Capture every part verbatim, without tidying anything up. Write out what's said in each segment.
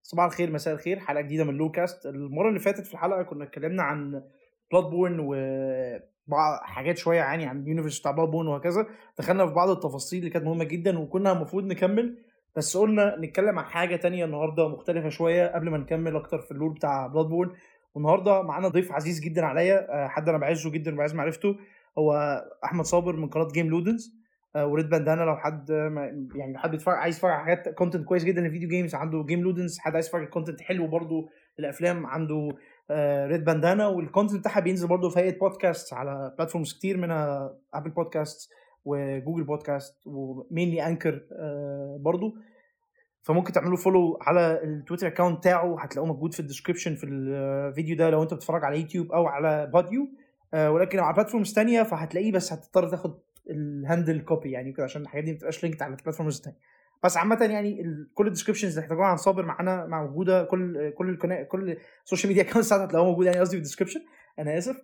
صباح الخير مساء الخير، حلقه جديده من لوكاست. المره اللي فاتت في الحلقه كنا اتكلمنا عن بلاد بورن وبعض حاجات شويه يعني عن اليونيفرس بتاع بلاد بورن وهكذا. دخلنا في بعض التفاصيل اللي كانت مهمه جدا وكنا المفروض نكمل، بس قلنا نتكلم عن حاجه تانية النهارده مختلفه شويه قبل ما نكمل اكتر في اللور بتاع بلاد بورن. والنهارده معانا ضيف عزيز جدا عليا، حد انا بعزه جدا وبعز معرفته، هو احمد صابر من قناه جيم لودنز وريد باندانا. لو حد يعني حد يتفرج عايز يتفرج على حاجات كونتنت كويس جدا للفيديو جيمز عنده جيم لودنز، حد عايز يتفرج على كونتنت حلو برضو للافلام عنده ريد باندانا. والكونتنت بتاعها بينزل برضو في هيئه بودكاست على بلاتفورمز كتير منها ابل بودكاست وجوجل بودكاست ومينلي انكر برضو. فممكن تعملوا فولو على التويتر اكاونت بتاعه، هتلاقوه موجود في الديسكريبشن في الفيديو ده لو انت بتتفرج على يوتيوب او على بوديو. ولكن على بلاتفورمز تانية فهتلاقيه، بس هتضطر تاخد الهاندل كوبي يعني كده عشان الحاجات دي ما بتبقاش لينكد على البلاتفورمز الثانيه. بس عامه يعني كل الديسكريبشنز اللي احتاجوها عن صابر معانا موجوده، كل كل القناه كل السوشيال ميديا اكونتس هتلاقوها موجوده يعني، قصدي في الديسكريبشن. انا اسف.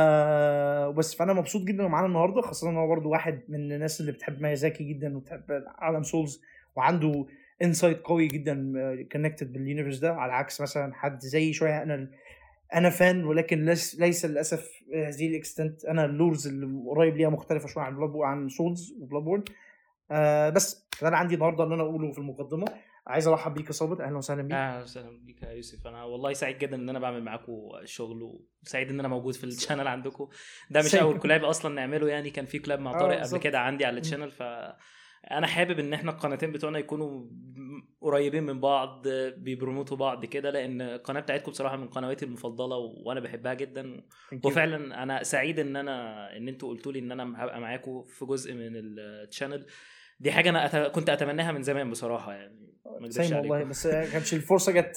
آه بس فانا مبسوط جدا معانا النهارده، خاصه ان هو برده واحد من الناس اللي بتحب ميازاكي جدا وبتحب عالم سولز وعنده انسايت قوي جدا كونكتد باليونيفرس ده، على عكس مثلا حد زي شويه انا انا فان ولكن ليس ليس للاسف هذه الاكستنت. انا اللورز اللي قريب ليها مختلفه شويه عن بلاد بورن عن سولز وبلاد بورن. آه بس ده انا عندي النهارده ان انا اقوله في المقدمه. عايز ارحب بيك يا صابر، اهلا وسهلا بيك. اهلا وسهلا بيك يا يوسف. انا والله سعيد جدا ان انا بعمل معاكم الشغل، وسعيد ان انا موجود في الشانل عندكم. ده مش اول كولاب اصلا نعمله يعني، كان في كولاب مع طارق قبل كده عندي على الشانل. ف انا حابب ان احنا القناتين بتوعنا يكونوا قريبين من بعض، بيبروموتوا بعض كده، لان القناه بتاعتكم بصراحه من قنواتي المفضله وانا بحبها جدا. وفعلا انا سعيد ان انا ان انتوا قلتوا لي ان انا هبقى معاكم في جزء من الشانل. دي حاجه انا أت... كنت اتمناها من زمان بصراحه يعني، ما اكذبش عليكم والله، بس كانتش الفرصه جت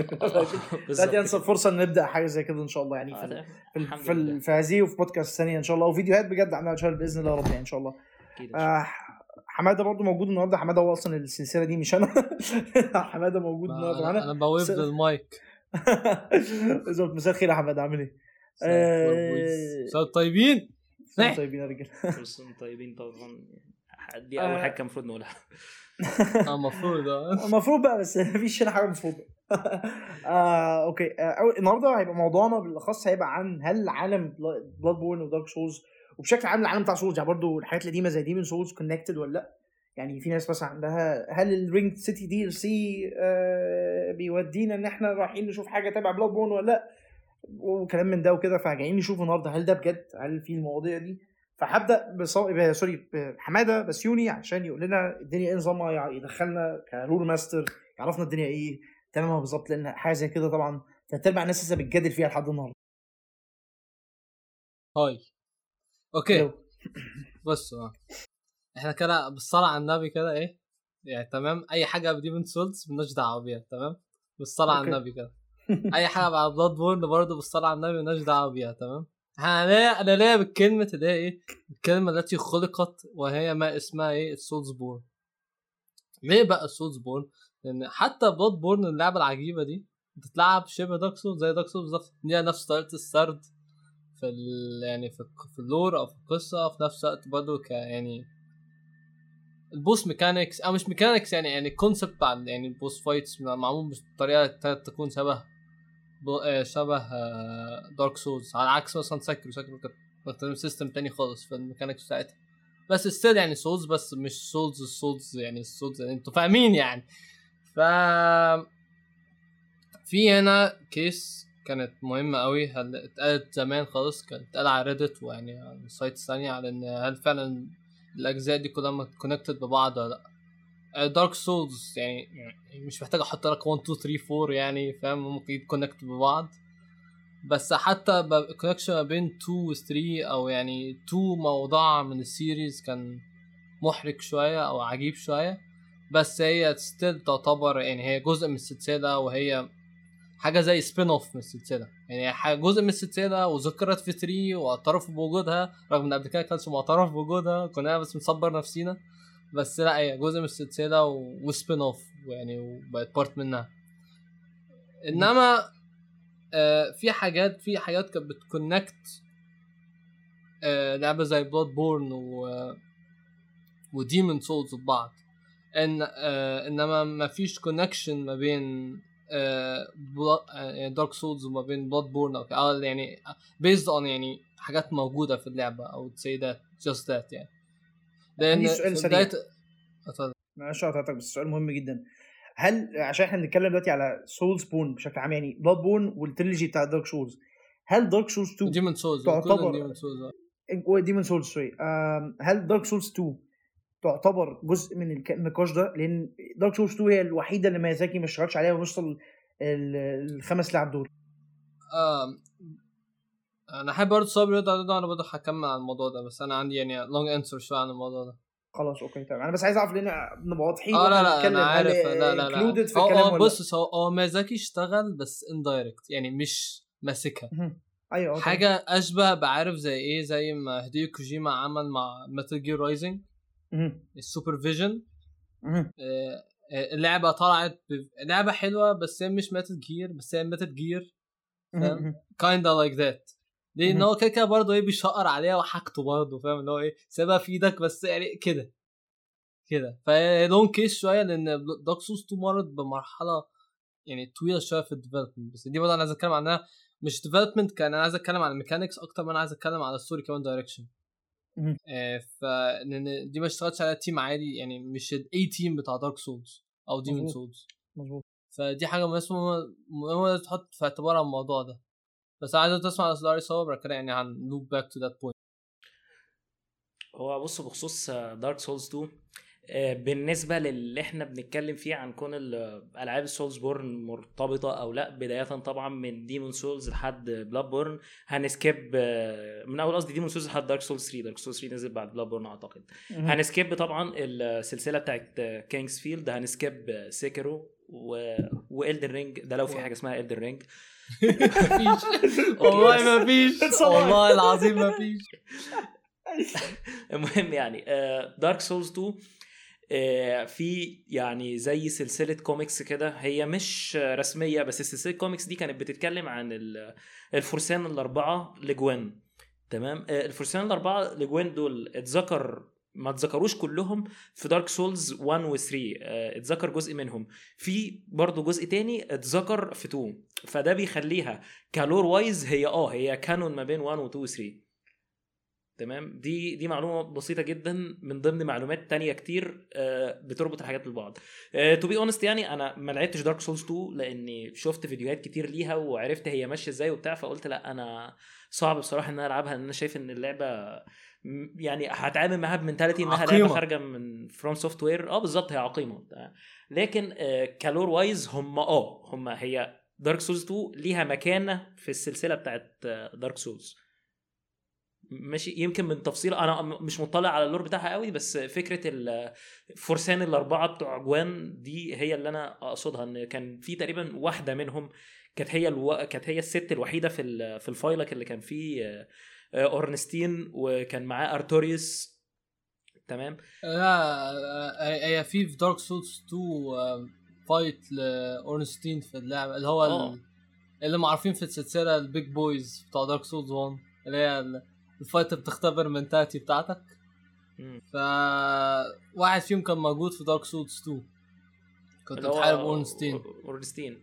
دلوقتي. انسب فرصه ان نبدا حاجه زي كده ان شاء الله يعني في في في, في هذه وفي بودكاست ثانيه ان شاء الله، وفيديوهات بجد عندنا ان شاء الله باذن الله رب يعني ان شاء الله. آه حماده برضو موجود النهارده. حماده هو اصلا السلسله دي مش انا. حماده موجود النهارده معانا. انا بويف للمايك. بالظبط. مساء الخير يا حماده، عامل ايه؟ مساء طيبين. طيبين يا رجاله. مساء طيبين طبعا. دي اول حاجه كان المفروض نقولها. اه المفروض اه المفروض بقى، بس مفيش هنا حاجه مفروض. آه، اوكي. آه، النهارده هيبقى موضوعنا بالاخص هيبقى عن هل عالم بلاد بورن ودارك سولز وبشكل عام العالم بتاع سولز يعني برضو الحاجات القديمه زي دي من سولز كونكتد ولا لا. يعني في ناس مثلا عندها هل الرينج سيتي دي ال سي بيودينا ان احنا رايحين نشوف حاجه تبع بلاد بورن ولا لا، وكلام من ده وكده. فجايين نشوف النهارده هل ده بجد، هل في المواضيع دي. فهبدا بصو... سوري بحماده بسيوني عشان يقول لنا الدنيا ايه نظامها، يدخلنا كرول ماستر، يعرفنا الدنيا ايه تمامها بالظبط، لان حاجه زي كده طبعا تتبع الناس لسه بتجادل فيها لحد النهارده. هاي اوكي. بص احنا كده بالصلاه على النبي كده ايه يعني تمام. اي حاجه بدي من سولز بنش دعوه بيها تمام بالصلاه على النبي كده. اي حاجه على بلاد بورن برضه بالصلاه على النبي بنش دعوه بيها تمام. انا ليه انا ليه بالكلمه اللي هي ايه الكلمه التي خلقت وهي ما اسمها ايه السولز بورن. ليه بقى السولز بورن؟ لان حتى بلاد بورن اللعبه العجيبه دي بتتلعب شبه دارك سولز زي دارك سولز بالظبط، ليها نفس طريقه السرد في ال... يعني في في اللور او في القصه، في نفس الوقت برضه ك يعني البوس ميكانيكس او مش ميكانيكس يعني يعني الكونسبت بتاع يعني البوس فايتس معمول بطريقه تكون شبه شبه دارك سولز، على عكس مثلا سايكرو سايكرو كده سيستم تاني خالص في الميكانيكس بتاعتها. بس ستيل يعني سولز، بس مش سولز السولز يعني السولز يعني انتوا فاهمين يعني. ف في هنا كيس كانت مهمه قوي، هل اتقالت زمان خالص، كانت اتقال على ريدت ويعني على السايت الثانيه على ان هل فعلا الاجزاء دي كلها كونكتد ببعض ولا لا. دارك سولز يعني مش محتاج احط لك واحد اتنين تلاتة اربعة يعني فاهم، ممكن يتكونكت ببعض. بس حتى الكونكشن ما بين اتنين و تلاتة او يعني اتنين موضوع من السيريز كان محرك شويه او عجيب شويه، بس هي ستيل تعتبر يعني هي جزء من السلسله، وهي حاجه زي سبين اوف من السلسله يعني حاجه جزء من السلسله وذكرت في تلاتة واعترفوا بوجودها رغم ان قبل كده كانش معترف بوجودها، كنا بس بنصبر نفسينا. بس لا هي جزء من السلسله وسبين اوف يعني وبقت بارت منها. انما آه في حاجات في حاجات كانت بتكونكت آه لعبه زي بلاد بورن و وديمون سولز ببعض، ان آه انما ما فيش كونكشن ما بين دارك سولز وما بين بلاد بورن او يعني بيزد اون يعني حاجات موجوده في اللعبه او تسي ذات جاست ذات يعني. لان سؤال سريع معلش قطعتك بس سؤال مهم جدا. هل عشان احنا بنتكلم دلوقتي على سولز بون بشكل عام يعني بلاد بورن والتريلوجي بتاع دارك سولز، هل دارك سولز تو ديمون سولز تعتبر ديمون سولز ديمون سولز سوري هل دارك سولز تو تعتبر جزء من النقاش ده؟ لان دارك سولز تو هي الوحيده اللي ميازاكي ما اشتغلش عليها ونوصل الخمس لعب دول. آه انا حابب برضه صبري ده انا برضه هكمل عن الموضوع ده بس انا عندي يعني لونج انسر شويه عن الموضوع ده. خلاص اوكي تمام. انا بس عايز اعرف لان نبقى واضحين اه لا لا انا عارف لا لا لا في الكلام ولا بص هو هو ميازاكي اشتغل بس اندايركت يعني مش ماسكها. ايوه حاجه اشبه بعرف زي ايه زي ما هيديو كوجيما عمل مع ميتال جير رايزنج السوبر فيجن. اللعبه طلعت لعبه حلوه بس هي مش ميتال جير بس هي ميتال جير كايندا لايك ذات لان هو كده كده برضه ايه بيشقر عليها وحاجته برضه فاهم اللي هو ايه سيبها في ايدك بس يعني كده كده فلون كيس شويه لان دارك سولز تو مرت بمرحله يعني طويله شويه في الديفلوبمنت بس دي برضه انا عايز اتكلم عنها مش ديفلوبمنت كان انا عايز اتكلم عن الميكانكس اكتر ما انا عايز اتكلم على الستوري كمان دايركشن. آه فلان دي ما اشتغلتش على تيم عادي يعني مش الاي تيم بتاع دارك سولز او ديمون سولز مظبوط. فدي حاجه مهمه تحط في اعتبار الموضوع ده. بس عايز تسمع اصداري صور كده يعني عن لوب باك تو ذات بوينت. هو بص بخصوص دارك سولز تو بالنسبه للي احنا بنتكلم فيه عن كون الالعاب السولز بورن مرتبطه او لا بدايه طبعا من ديمون سولز لحد بلاد بورن هنسكيب من اول قصدي ديمون سولز لحد دارك سولز ثري. دارك سولز ثري نزل بعد بلاد بورن اعتقد. هنسكيب طبعا السلسله بتاعت كينجز فيلد هنسكيب سيكرو و... وإلدن رينج ده لو في حاجه اسمها إلدن رينج. والله ما فيش والله العظيم ما فيش. المهم يعني دارك سولز تو في يعني زي سلسلة كوميكس كده هي مش رسمية بس السلسلة كوميكس دي كانت بتتكلم عن الفرسان الأربعة لجوين. تمام. الفرسان الأربعة لجوين دول اتذكر ما اتذكروش كلهم في دارك سولز واحد و ثري اتذكر جزء منهم في برضو جزء تاني اتذكر في تو فده بيخليها كالور وايز هي اه هي كانون ما بين واحد و تو و ثري. تمام. دي دي معلومه بسيطه جدا من ضمن معلومات تانية كتير بتربط الحاجات ببعض. تو بي اونست يعني انا ما لعبتش دارك سولز تو لاني شفت فيديوهات كتير ليها وعرفت هي ماشيه ازاي وبتاع فقلت لا انا صعب بصراحه ان انا العبها لان انا شايف ان اللعبه يعني هتعامل معاها بمنتاليتي انها عقيمة. لعبه خارجه من فروم سوفت وير اه بالظبط هي عقيمه لكن كالور وايز هم اه هم هي دارك سولز تو ليها مكانه في السلسله بتاعت دارك سولز ماشي. يمكن من تفصيل انا مش مطلع على اللور بتاعها قوي بس فكره الفرسان الاربعه بتوع جوان دي هي اللي انا اقصدها ان كان في تقريبا واحده منهم كانت هي الو... كانت هي الست الوحيده في ال... في الفايلك اللي كان فيه اورنستين وكان معاه ارتوريوس. تمام. لا هي في في دارك سولز تو فايت لاورنستين في اللعبه اللي هو أوه. اللي معروفين في السلسله البيج بويز بتاع دارك سولز واحد اللي هي الفايت بتختبر المنتاليتي بتاعتك. ف واحد فيهم كان موجود في دارك سولز تو كنت بتحارب اورنستين اورنستين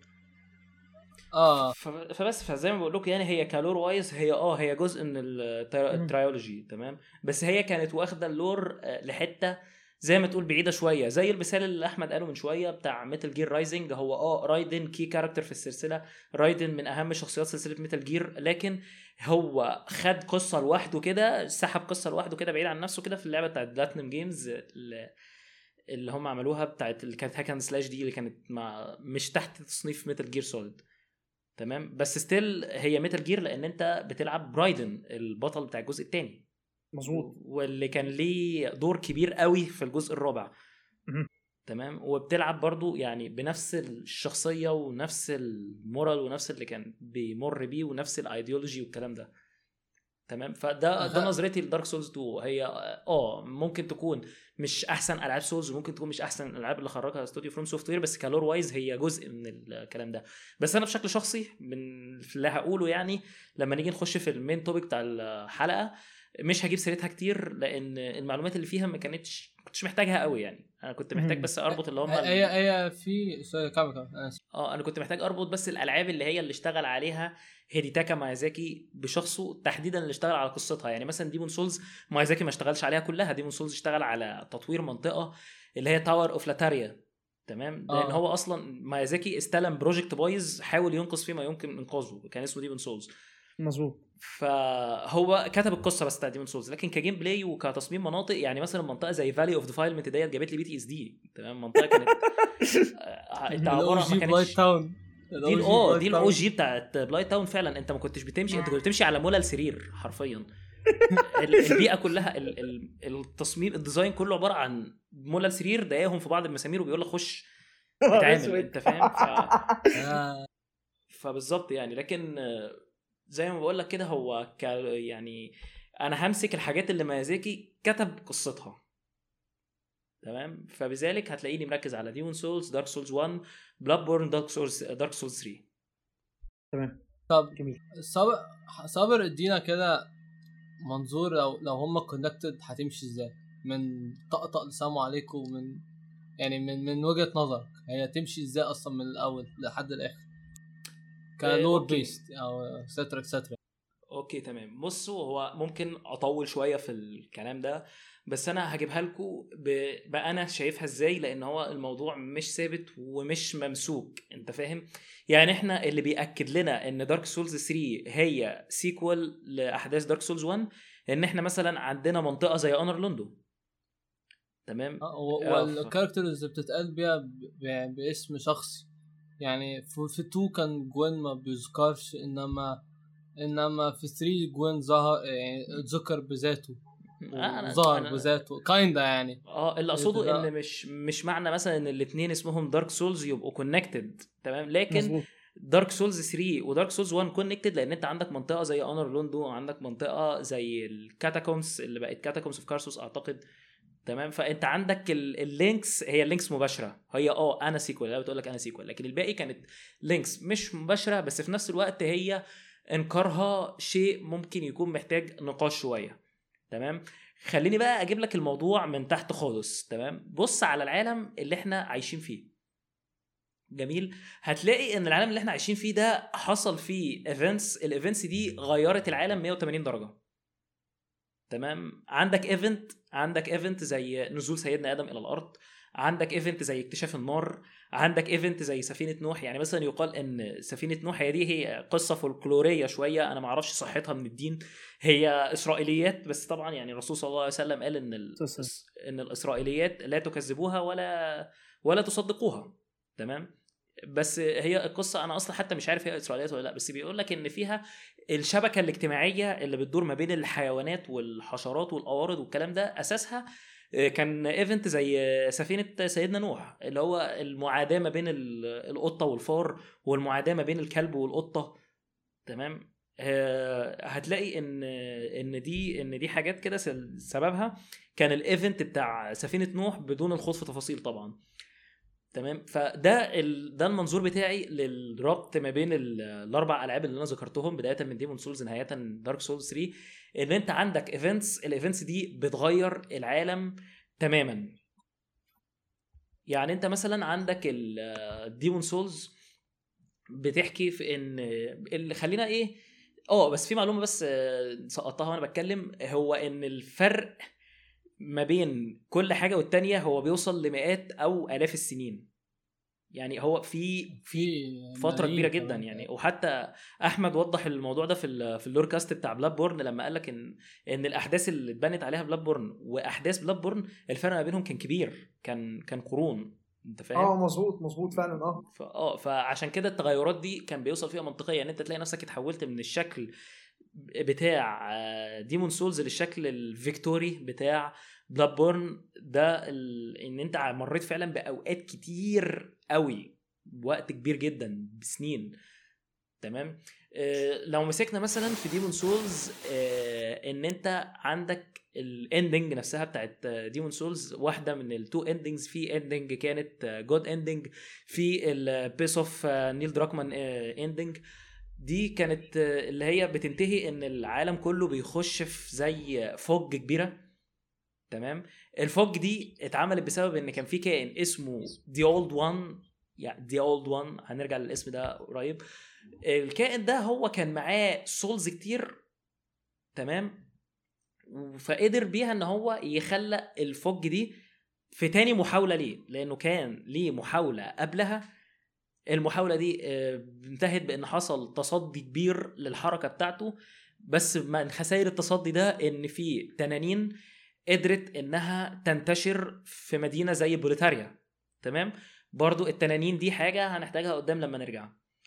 اه فبس فزي ما بقول لكم يعني هي كالور وايز هي اه هي جزء من الترايولوجي. تمام. بس هي كانت واخده اللور لحته زي ما تقول بعيده شويه زي المثال اللي احمد قاله من شويه بتاع ميتال جير رايزنج. هو اه رايدن كي كاركتر في السلسله رايدن من اهم شخصيات سلسله ميتال جير لكن هو خد قصه لوحده كده سحب قصه لوحده كده بعيد عن نفسه كده في اللعبه بتاعت بلاتينم جيمز اللي هم عملوها بتاعت اللي كانت هاكن سلاش دي اللي كانت مع مش تحت تصنيف ميتال جير سوليد. تمام. بس ستيل هي ميتال جير لان انت بتلعب برايدن البطل بتاع الجزء الثاني مظبوط واللي كان ليه دور كبير قوي في الجزء الرابع. تمام. وبتلعب برضو يعني بنفس الشخصيه ونفس المورال ونفس اللي كان بيمر بيه ونفس الايديولوجي والكلام ده. تمام. فده ده نظرتي لدارك سولز تو. هي اه ممكن تكون مش احسن العاب سولز وممكن تكون مش احسن الالعاب اللي خرجها استوديو فروم سوفت وير بس كالور وايز هي جزء من الكلام ده. بس انا بشكل شخصي من اللي هقوله يعني لما نيجي نخش في المين توبيك بتاع الحلقه مش هجيب سيرتها كتير لان المعلومات اللي فيها ما كانتش كنتش محتاجها قوي يعني. انا كنت محتاج بس اربط اللي هم هي هي في كام اه انا كنت محتاج اربط بس الالعاب اللي هي اللي اشتغل عليها هيديتاكا مايازاكي بشخصه تحديدا، اللي اشتغل على قصتها. يعني مثلا ديمون سولز مايازاكي ما اشتغلش عليها كلها، ديمون سولز اشتغل على تطوير منطقه اللي هي تاور اوف لاتاريا، تمام. لان آه. هو اصلا مايازاكي استلم بروجكت بايظ حاول ينقذ فيه ما يمكن انقاذه، كان اسمه ديمون سولز. مظبوط. فهو كتب القصه بس بتاع ديمون سولز، لكن كجيم بلاي وكتصميم مناطق يعني مثلا منطقه زي فالي اوف ديفايلمنت ديت جابت لي بي تي اس دي، تمام. منطقه كانت انت عباره ما كانتش دي اه دي الاو جي بتاعت بلايت تاون فعلا. انت ما كنتش بتمشي، انت كنت بتمشي على مولى السرير حرفيا. البيئه كلها التصميم الديزاين كله عباره عن مولى السرير دايهم في بعض المسامير وبيقول لك خش اتعامل، انت فاهم. ف... فبالظبط يعني. لكن زي ما بقول لك كده هو ك... يعني انا همسك الحاجات اللي ميازاكي كتب قصتها، تمام. فبذلك هتلاقيني مركز على ديمون سولز، دارك سولز واحد، بلاد بورن، دارك سولز دارك سولز ثلاثة. تمام. طب جميل. صابر صابر ادينا كده منظور لو لو هم كونكتد هتمشي ازاي من طقطق لسلام عليكم، من يعني من من وجهة نظرك هي تمشي ازاي اصلا من الاول لحد الاخر كلور بيست او سترا سترا. اوكي تمام. بصوا هو ممكن اطول شويه في الكلام ده، بس انا هجيبها لكم بقى انا شايفها ازاي، لان هو الموضوع مش ثابت ومش ممسوك، انت فاهم. يعني احنا اللي بيأكد لنا ان دارك سولز ثلاثة هي سيكوال لاحداث دارك سولز واحد ان احنا مثلا عندنا منطقه زي انر لوندو، تمام. والكاركترز بتتقال بيها باسم شخصي، يعني في اتنين كان جوين ما بيذكرش، انما انما في ثلاثة جوين ظهر يعني ذكر بذاته وظهر بذاته كايندا يعني. اه اللي اقصده ان مش مش معنى مثلا ان الاثنين اسمهم دارك سولز يبقوا كونكتد، تمام. لكن دارك سولز ثلاثة ودارك سولز واحد كونكتد لان انت عندك منطقه زي انر لوندو، عندك منطقه زي الكاتاكومز اللي بقت كاتاكومز اوف كارسوس اعتقد، تمام. فانت عندك اللينكس، هي اللينكس مباشره، هي اه انا سيكوال، لا بتقول لك انا سيكوال، لكن الباقي كانت لينكس مش مباشره، بس في نفس الوقت هي انكارها شيء ممكن يكون محتاج نقاش شويه، تمام. خليني بقى اجيب لك الموضوع من تحت خالص، تمام. بص على العالم اللي احنا عايشين فيه، جميل. هتلاقي ان العالم اللي احنا عايشين فيه ده حصل فيه ايفنتس، الايفنتس دي غيرت العالم مية وتمانين درجه، تمام. عندك ايفنت عندك ايفنت زي نزول سيدنا ادم الى الارض، عندك ايفنت زي اكتشاف النار، عندك ايفنت زي سفينه نوح. يعني مثلا يقال ان سفينه نوح هي دي هي قصه فولكلوريه شويه، انا ما اعرفش صحتها من الدين، هي اسرائيليات، بس طبعا يعني الرسول صلى الله عليه وسلم قال ان ال... ان الاسرائيليات لا تكذبوها ولا ولا تصدقوها، تمام. بس هي القصه انا اصلا حتى مش عارف هي اسرائيليات ولا لا، بس بيقول لك ان فيها الشبكه الاجتماعيه اللي بتدور ما بين الحيوانات والحشرات والقوارض والكلام ده اساسها كان ايفنت زي سفينه سيدنا نوح، اللي هو المعاداه ما بين القطه والفار والمعاداه ما بين الكلب والقطه، تمام. هتلاقي ان ان دي ان دي حاجات كده سببها كان الايفنت بتاع سفينه نوح بدون الخوض في تفاصيل طبعا، تمام. فده ال... ده المنظور بتاعي للربط ما بين الاربع العاب اللي انا ذكرتهم، بدايه من ديمون سولز نهايه دارك سولز ثلاثة. ان انت عندك ايفنتس، الايفنتس دي بتغير العالم تماما. يعني انت مثلا عندك الديمون سولز بتحكي في ان اللي خلينا ايه اه بس في معلومه بس سقطتها وانا بتكلم، هو ان الفرق ما بين كل حاجه والتانيه هو بيوصل لمئات او الاف السنين. يعني هو في في فتره كبيره جدا يعني. وحتى احمد وضح الموضوع ده في في اللور كاست بتاع بلاد بورن لما قال لك ان ان الاحداث اللي اتبنت عليها بلاد بورن واحداث بلاد بورن الفرق ما بينهم كان كبير، كان كان قرون، انت فاهم. اه مظبوط مظبوط فعلا. اه اه فعشان كده التغيرات دي كان بيوصل فيها منطقيه، يعني انت تلاقي نفسك اتحولت من الشكل بتاع ديمون سولز للشكل الفيكتوري بتاع بلاد بورن ده ال... ان انت مريت فعلا باوقات كتير قوي، بوقت كبير جدا بسنين، تمام. آه لو مسكنا مثلا في ديمون سولز آه ان انت عندك الاندنج نفسها بتاعت ديمون سولز واحده من التو اندنجز، في اندنج كانت جود اندنج، في البيس اوف نيل دراكمان اندنج. دي كانت اللي هي بتنتهي ان العالم كله بيخش في زي فوج كبيره. تمام. الفوج دي اتعملت بسبب ان كان في كائن اسمه The Old One، يعني The Old One هنرجع للاسم ده قريب. الكائن ده هو كان معاه سولز كتير. تمام. فقدر بيها ان هو يخلق الفوج دي في تاني محاولة ليه، لانه كان ليه محاولة قبلها. المحاولة دي انتهت بان حصل تصدي كبير للحركة بتاعته، بس من خسائر التصدي ده ان في تنانين قدرت انها تنتشر في مدينة زي بوليتاريا. تمام. برضو التنانين دي حاجة هنحتاجها قدام لما نرجع.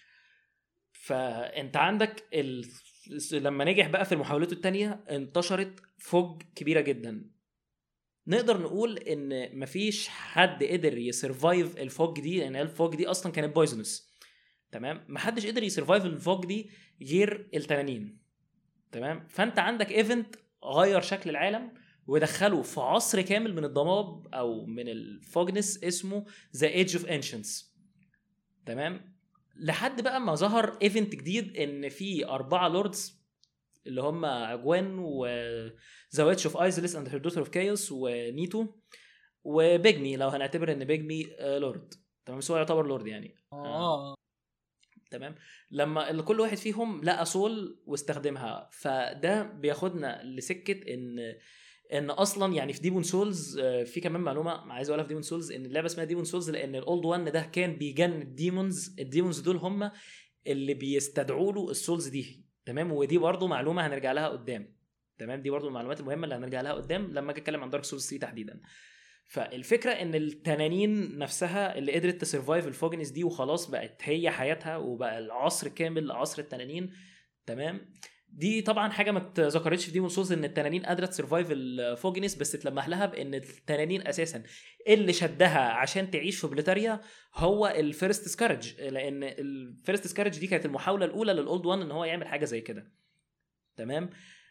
فانت عندك ال... لما نجح بقى في محاولته التانية انتشرت فوج كبيرة جدا. نقدر نقول ان مفيش حد قدر يسرفايف الفوج دي، لان يعني الفوج دي اصلا كانت بويزنس. تمام. محدش قدر يسرفايف الفوج دي غير التنانين. تمام. فانت عندك ايفنت غير شكل العالم ودخله في عصر كامل من الضباب او من الفوجنس اسمه ذا ايدج اوف انشنس. تمام. لحد بقى ما ظهر ايفنت جديد ان في اربعه لوردز اللي هم اجوان و ذا ويتش اوف ايزلس اند هير دوتر اوف كايوس ونيتو وبيجمي، لو هنعتبر ان بيجمي لورد. تمام. سو يعتبر لورد يعني. اه تمام. لما كل واحد فيهم لقى سول واستخدمها، فده بياخدنا لسكه ان ان اصلا يعني في ديمون سولز في كمان معلومه عايز اقولها في ديمون سولز، ان اللعبه اسمها ديمون سولز لان الاولد وان ده كان بيجن الديمونز. الديمونز دول هم اللي بيستدعوا له السولز دي. تمام. ودي برضو معلومه هنرجع لها قدام. تمام. دي برضو المعلومات المهمه اللي هنرجع لها قدام لما اجي اتكلم عن دارك سولز ثلاثة تحديدا. فالفكره ان التنانين نفسها اللي قدرت تسرفايف الفوجنس دي وخلاص بقت هي حياتها وبقى العصر كامل عصر التنانين. تمام. دي طبعا حاجه ما اتذكرتش في ديمون سولز ان التنانين قادره تسرفايف الفوجنس، بس اتلمح لها بان التنانين اساسا اللي شدها عشان تعيش في بليتاريا هو الفيرست سكارج، لان الفيرست سكارج دي كانت المحاوله الاولى للاولد وان ان هو يعمل حاجه زي كده. تمام.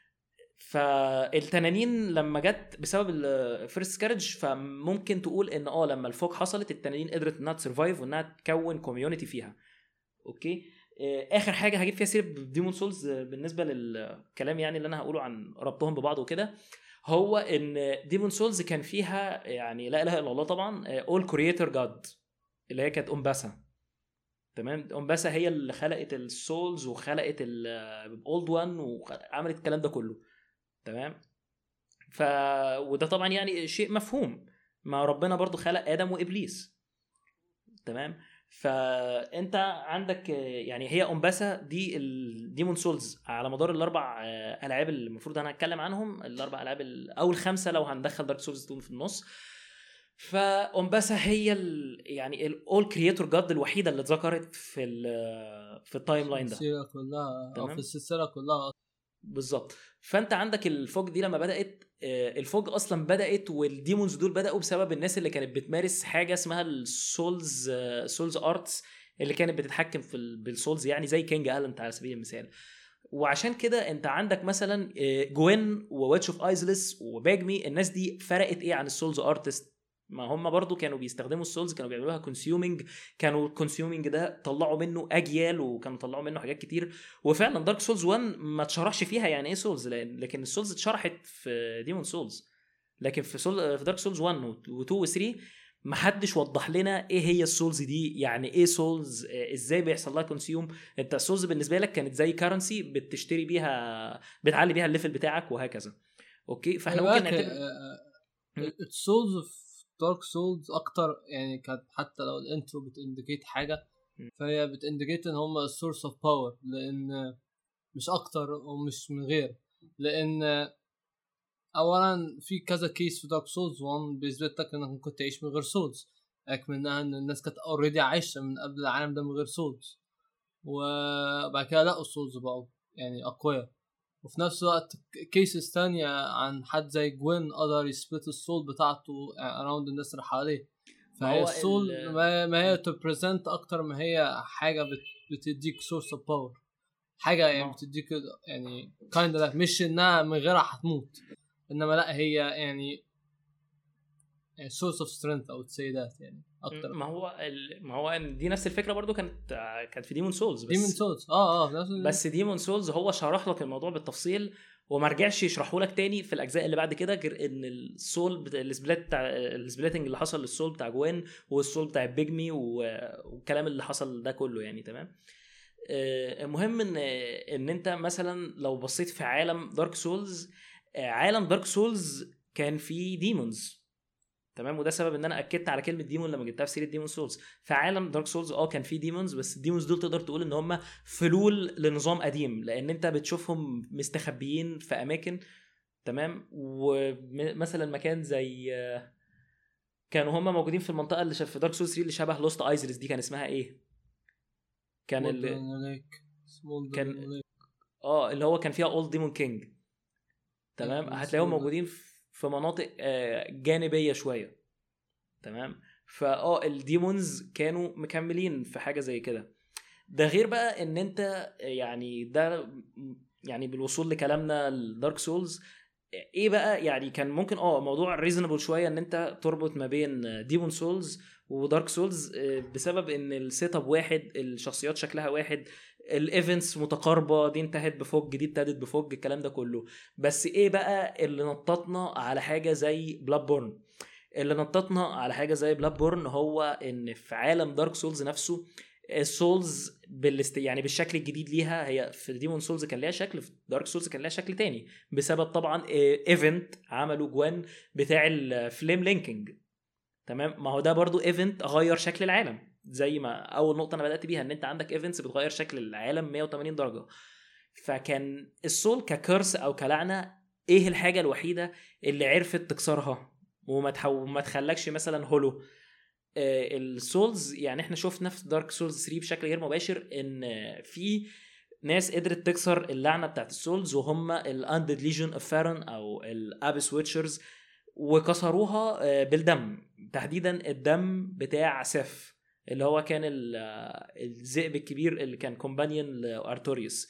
فالتنانين لما جت بسبب الفيرست سكارج فممكن تقول ان اه لما الفوج حصلت التنانين قدرت انها تسرفايف وانها تكون كوميونتي فيها. اوكي. اخر حاجه هجيب فيها سيره ديمون سولز بالنسبه للكلام يعني اللي انا هقوله عن ربطهم ببعض وكده، هو ان ديمون سولز كان فيها يعني لا اله الا الله طبعا اول كرييتور جاد اللي هي كانت امباسا. تمام. امباسا هي اللي خلقت السولز وخلقت الاولد وان وعملت الكلام ده كله. تمام. ف وده طبعا يعني شيء مفهوم، ما ربنا برضو خلق ادم وابليس. تمام. فانت عندك يعني هي امباسا دي الديمون سولز على مدار الاربع العاب اللي المفروض انا هتكلم عنهم، الاربع العاب او الخمسه لو هندخل دارك سولز في النص. فامباسا هي ال يعني الاول كرييتور جاد الوحيده اللي اتذكرت في ال في التايم لاين ده السلسله كلها او في السلسله كلها بالظبط. فانت عندك الفوج دي لما بدات الفوج اصلا بدات والديمونز دول بداوا بسبب الناس اللي كانت بتمارس حاجه اسمها السولز سولز ارتس اللي كانت بتتحكم في بالسولز يعني زي كينج النت على سبيل المثال. وعشان كده انت عندك مثلا جوين وويتش اوف ايزلس وباجمي، الناس دي فرقت ايه عن السولز ارتست؟ ما هم برضو كانوا بيستخدموا السولز، كانوا بيعملوها كونسيومينج، كانوا الكونسيومينج ده طلعوا منه اجيال وكانوا طلعوا منه حاجات كتير. وفعلا دارك سولز واحد ما اتشرحش فيها يعني ايه سولز، لكن السولز اتشرحت في ديمون سولز، لكن في سول في دارك سولز واحد و2 و3 ما حدش وضح لنا ايه هي السولز دي، يعني ايه سولز، ازاي بيحصل لها كونسيوم. انت السولز بالنسبه لك كانت زي كارنسي بتشتري بيها بتعلي بيها الليفل بتاعك وهكذا. اوكي. فاحنا ممكن نعتبر السولز دارك سولز اكتر يعني كانت حتى لو الانترو بتانديكيت حاجه فهي بتانديكيت ان هم السورس اوف باور، لان مش اكتر ومش من غير. لان اولا في كذا كيس في دارك سولز واحد بيثبت لك انك ممكن تعيش من غير سولز، اكمنها ان الناس كانت اوريدي عايشه من قبل العالم ده من غير سولز، وبعد كده لقوا السولز بقوا يعني اقوياء. وفي نفس الوقت كيسز تانية عن حد زي جوين قدر يسبلت السول بتاعته اراوند الناس اللي حواليه. فهي السول ما هي تبريزنت اكتر ما هي حاجه بتديك سورس اوف باور، حاجه يعني بتديك يعني كايند اوف مش انها من غيرها هتموت، انما لا هي يعني سورس اوف سترينث او تسي ذات يعني اكتر. ما هو ال... ما هو دي نفس الفكره برضو كانت كانت في ديمون سولز. بس ديمون سولز اه اه بس ديمون سولز هو شرح لك الموضوع بالتفصيل وما رجعش يشرحه لك تاني في الاجزاء اللي بعد كده، غير ان السول بتاع السبلات بتاع السبليتنج اللي حصل للسول بتاع جوين والسول بتاع بيجمي والكلام اللي حصل ده كله يعني. تمام. المهم ان ان انت مثلا لو بصيت في عالم دارك سولز، عالم دارك سولز كان فيه ديمونز. تمام. وده سبب ان انا اكدت على كلمه ديمون لما جبتها في سيره ديمون سولز. في عالم دارك سولز اه كان في ديمونز، بس الديمونز دول تقدر تقول ان هم فلول لنظام قديم، لان انت بتشوفهم مستخبيين في اماكن. تمام. ومثلا مكان زي كانوا هم موجودين في المنطقه اللي في دارك سولز ثلاثة اللي شبه لوست ايزرز، دي كان اسمها ايه؟ كان اللي كان اه اللي هو كان فيها اولد ديمون كينج. تمام. هتلاقيهم موجودين في مناطق جانبيه شويه. تمام. فاه الديمونز كانوا مكملين في حاجه زي كده. ده غير بقى ان انت يعني ده يعني بالوصول لكلامنا الدارك سولز ايه بقى، يعني كان ممكن اه موضوع ريزونبل شويه ان انت تربط ما بين ديمون سولز ودارك سولز بسبب ان السيت اب واحد، الشخصيات شكلها واحد، الايفنتس متقاربه، دي انتهت بفوج دي ابتدت بفوج، الكلام ده كله. بس ايه بقى اللي نططنا على حاجه زي بلاد بورن؟ اللي نططنا على حاجه زي بلاد بورن هو ان في عالم دارك سولز نفسه السولز بالست يعني بالشكل الجديد ليها، هي في ديمون سولز كان ليها شكل، في دارك سولز كان ليها شكل تاني بسبب طبعا ايفنت عملوا جوان بتاع الفليم لينكينج. تمام. ما هو ده برضو ايفنت غير شكل العالم، زي ما اول نقطه انا بدات بيها ان انت عندك ايفنتس بتغير شكل العالم مية وتمانين درجه. فكان السول ككرس او كلعنه ايه الحاجه الوحيده اللي عرفت تكسرها وما تحو... ما تخلكش مثلا هولو؟ آه السولز. يعني احنا شفنا في دارك سولز ثلاثة بشكل غير مباشر ان في ناس قدرت تكسر اللعنه بتاعت السولز، وهم الاندد ليجن اوف فارن او الابس ويتشرز، وكسروها آه بالدم، تحديدا الدم بتاع سيف اللي هو كان الذئب الكبير اللي كان كومبانيون لارتوريوس.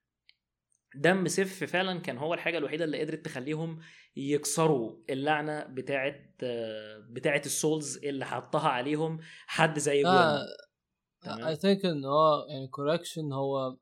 دم سيف فعلا كان هو الحاجه الوحيده اللي قدرت تخليهم يكسروا اللعنه بتاعه بتاعه السولز اللي حطها عليهم حد زي جوين. آه I think ان هو يعني correction، هو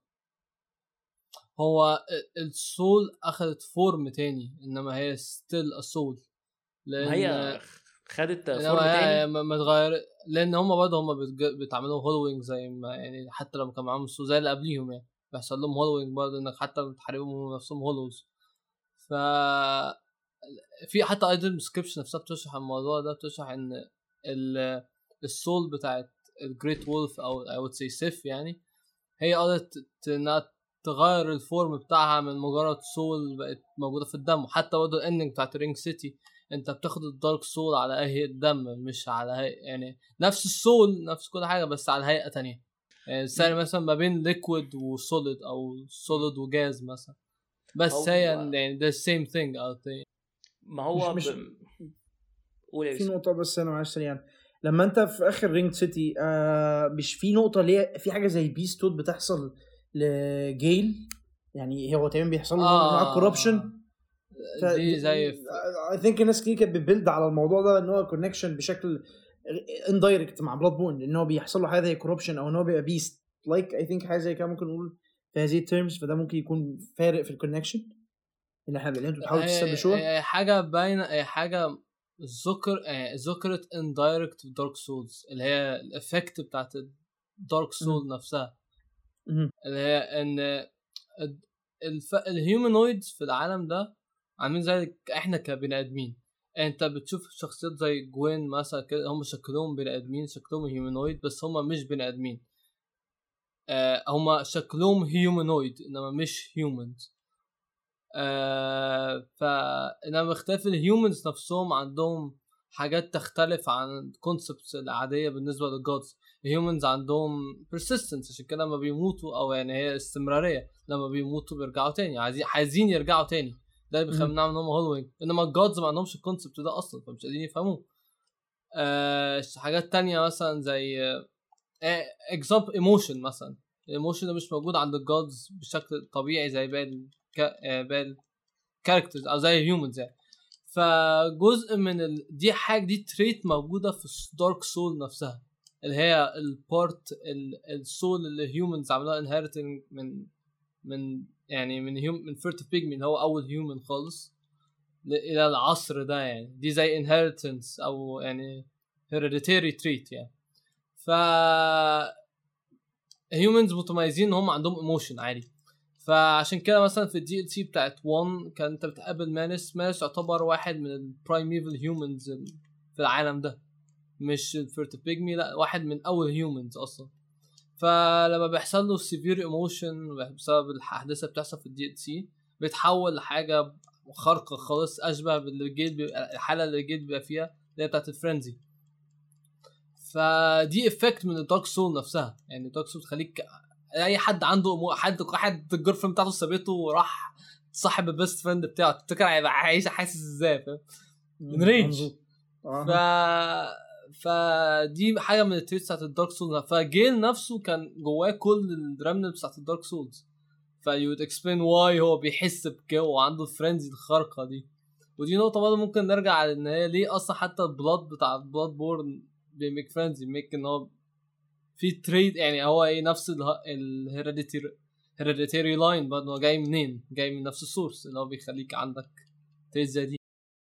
هو السول اخذت فورم تاني، انما هي still a soul، لان هي خدت فورم تاني ما تغير، لان هم برضه هم بيتعملوا هولوينج زي ما يعني حتى لما كان معاهم السول زي اللي قبليهم يعني بيحصل لهم هولوينج برضه، انك حتى بتحاربهم نفسهم هولوز. ف في حتى ايدل ديسكريبشن نفسها بتشرح الموضوع ده، بتشرح ان السول بتاعت الجريت وولف او I would say سيف يعني هي قدرت انها تغير الفورم بتاعها من مجرد سول بقت موجوده في الدم. وحتى برضه الاندنج بتاعت رينج سيتي انت بتاخد الدارك سول على هيئه دم، مش على هيئه يعني نفس السول نفس كل حاجه بس على هيئه تانية. يعني السعر مثلا ما بين ليكويد وسوليد او سوليد وجاز مثلا، بس هي يعني the same thing out there. ما هو مش, ب... مش في نقطه بس انا معلش يعني لما انت في اخر رينج سيتي آه مش في نقطه ليه في حاجه زي بيستود بتحصل لجيل، يعني هو تقريبا بيحصل له نوع من الكوربشن دي زي I think الناس كتير كانت بتبيلد على الموضوع ده ان هو كونكشن بشكل اندايركت مع بلاد بون، ان هو بيحصل له حاجه زي كوربشن او ان هو بيبقى بيست لايك اي ثينك حاجه زي كده ممكن نقول في هذه التيرمز. فده ممكن يكون فارق في الكونكشن اللي احنا اللي انتوا بتحاولوا تستبشوها. حاجه باينه، اي حاجه ذكر ذكرت اندايركت في دارك سولز اللي هي الافكت بتاعت الدارك سول نفسها، اللي هي ان الف... الهيومانويدز في العالم ده عاملين زي احنا كبني ادمين. انت بتشوف شخصيات زي جوين مثلا كده هم شكلهم بني ادمين، شكلهم هيومانويد بس هم مش بني ادمين. آه هم شكلهم هيومانويد انما مش هيومنز. آه فانما اختلاف الهيومنز نفسهم عندهم حاجات تختلف عن الكونسبتس العاديه بالنسبه للجودز. الهيومنز عندهم persistence، عشان كده لما بيموتوا او يعني هي استمراريه، لما بيموتوا بيرجعوا تاني، عايزين عايزين يرجعوا تاني، ده اللي بيخلينا ان هم هولوينج. انما الجودز ما عندهمش الكونسبت ده اصلا فمش قادرين يفهموه. آه حاجات تانية مثلا زي اكزامبل uh, ايموشن مثلا. الايموشن ده مش موجود عند الجودز بشكل طبيعي زي باقي باقي الكاركترز او زي الهيومنز يعني. فجزء من ال... دي حاجه دي تريت موجوده في دارك سول نفسها اللي هي البارت السول اللي هيومنز عملوها انهيرتنج من من يعني من هيوم من فيرت بيجمي اللي هو اول هيومن خالص الى العصر ده يعني دي زي انهيرتنس او يعني هيريديتاري تريت يعني ف هيومنز متميزين ان هم عندهم ايموشن عادي فعشان كده مثلا في الدي ال سي بتاعت واحد كان انت بتقابل مانس مانس يعتبر واحد من البرايميفال هيومنز في العالم ده مش الفيرت بيجمي لا واحد من اول هيومنز اصلا فلما بيحصل له سيفير ايموشن بسبب الاحداث اللي بتحصل في الدي ال سي بيتحول لحاجه خارقه خالص اشبه بالجيل بيبقى الحاله اللي الجيل بيبقى فيها اللي هي بتاعت الفرنزي فدي افكت من الدارك سول نفسها يعني الدارك سول تخليك اي حد عنده مو... حد حد الجيرل فريند بتاعته سابته وراح صاحب البيست فريند بتاعه تفتكر هيبقى عايش حاسس ازاي فاهم من رينج ف فدي حاجه من التريتس بتاعت الدارك سول فجيل نفسه كان جواه كل الرمل بتاعت الدارك سولز فيو اكسبلين واي هو بيحس بكده وعنده الفريندز الخارقه دي ودي نقطه برضه ممكن نرجع على ان هي ليه اصلا حتى البلاد بتاع البلاد بورن بيميك فريندز يميك ان هو في تريد يعني هو ايه نفس الهيريديتري هيريديتري لاين برضه جاي منين جاي من نفس السورس اللي هو بيخليك عندك تريد زي دي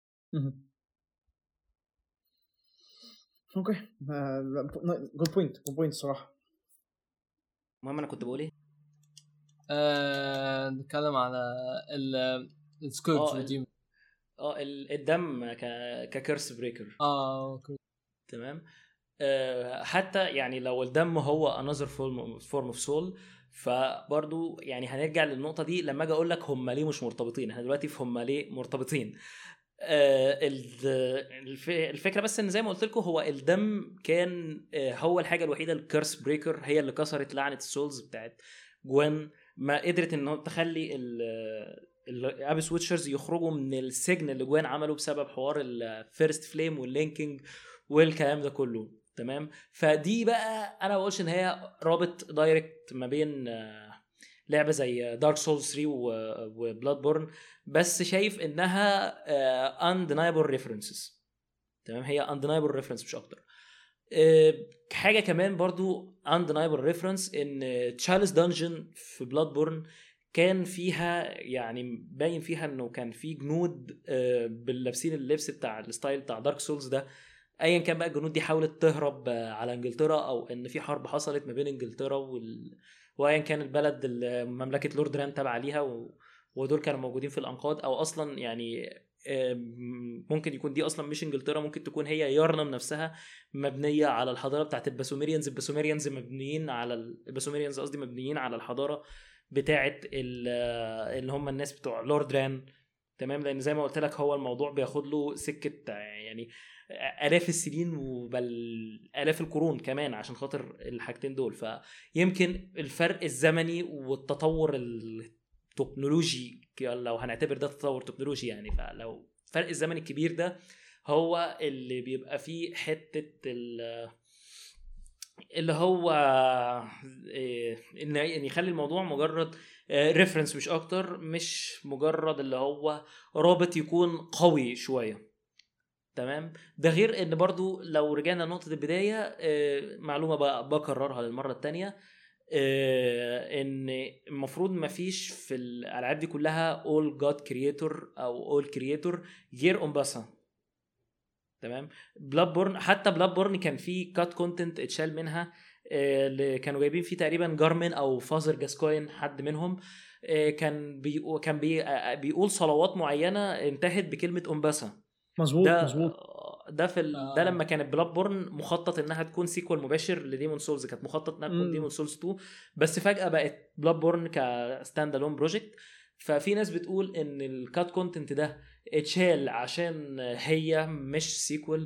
اوكي جود بوينت جود بوينت صراحه المهم انا كنت بقول ايه آه نتكلم على ال السكورج وديم اه الدم ك ككيرس بريكر اه اوكي تمام أه حتى يعني لو الدم هو another form form of soul فبرضو يعني هنرجع للنقطة دي لما اجي اقول لك هم ليه مش مرتبطين احنا دلوقتي في هم ليه مرتبطين أه الفكرة بس ان زي ما قلت لكم هو الدم كان هو الحاجة الوحيدة الكيرس بريكر هي اللي كسرت لعنة السولز بتاعت جوين ما قدرت انه تخلي الابس ويتشرز يخرجوا من السجن اللي جوين عمله بسبب حوار الفيرست فليم واللينكينج والكلام ده كله تمام فدي بقى انا بقولش ان هي رابط دايركت ما بين لعبه زي دارك سولز ثري وبلاد بورن بس شايف انها undeniable references تمام هي undeniable reference مش اكتر حاجه كمان برضو undeniable reference ان تشارلز دانجن في بلاد بورن كان فيها يعني باين فيها انه كان في جنود باللابسين اللبس بتاع الستايل بتاع دارك سولز ده ايا كان بقى الجنود دي حاولت تهرب على انجلترا او ان في حرب حصلت ما بين انجلترا وال... وايا كان البلد مملكه لورد ران تبع ليها و... ودول كانوا موجودين في الانقاض او اصلا يعني ممكن يكون دي اصلا مش انجلترا ممكن تكون هي يارنم نفسها مبنيه على الحضاره بتاعت الباسوميريانز الباسوميريانز مبنيين على الباسوميريانز قصدي مبنيين على الحضاره بتاعت اللي هم الناس بتوع لورد ران تمام لان زي ما قلت لك هو الموضوع بياخد له سكه يعني آلاف السنين وبل آلاف القرون كمان عشان خاطر الحاجتين دول فيمكن الفرق الزمني والتطور التكنولوجي لو هنعتبر ده تطور تكنولوجي يعني فلو الفرق الزمني الكبير ده هو اللي بيبقى فيه حتة اللي هو ان يخلي الموضوع مجرد ريفرنس مش اكتر مش مجرد اللي هو رابط يكون قوي شوية تمام ده غير ان برضو لو رجعنا لنقطة البداية معلومة بكررها للمرة التانية ان المفروض ما فيش في الالعاب دي كلها all god creator او all creator غير امباسا تمام بلاد بورن حتى بلاد بورن كان فيه كات كونتنت اتشال منها اللي كانوا جايبين فيه تقريبا جارمن او فازر جاسكوين حد منهم كان بي كان بي بيقول صلوات معينة انتهت بكلمة امباسا مظبوط ده مظبوط ده في ال... آه. ده لما كانت بلاد بورن مخطط انها تكون سيكوال مباشر لديمون سولز كانت مخطط انها تكون ديمون سولز تو بس فجأة بقت بلاد بورن كستاند الون بروجكت ففي ناس بتقول ان الكات كونتنت ده اتشال عشان هي مش سيكوال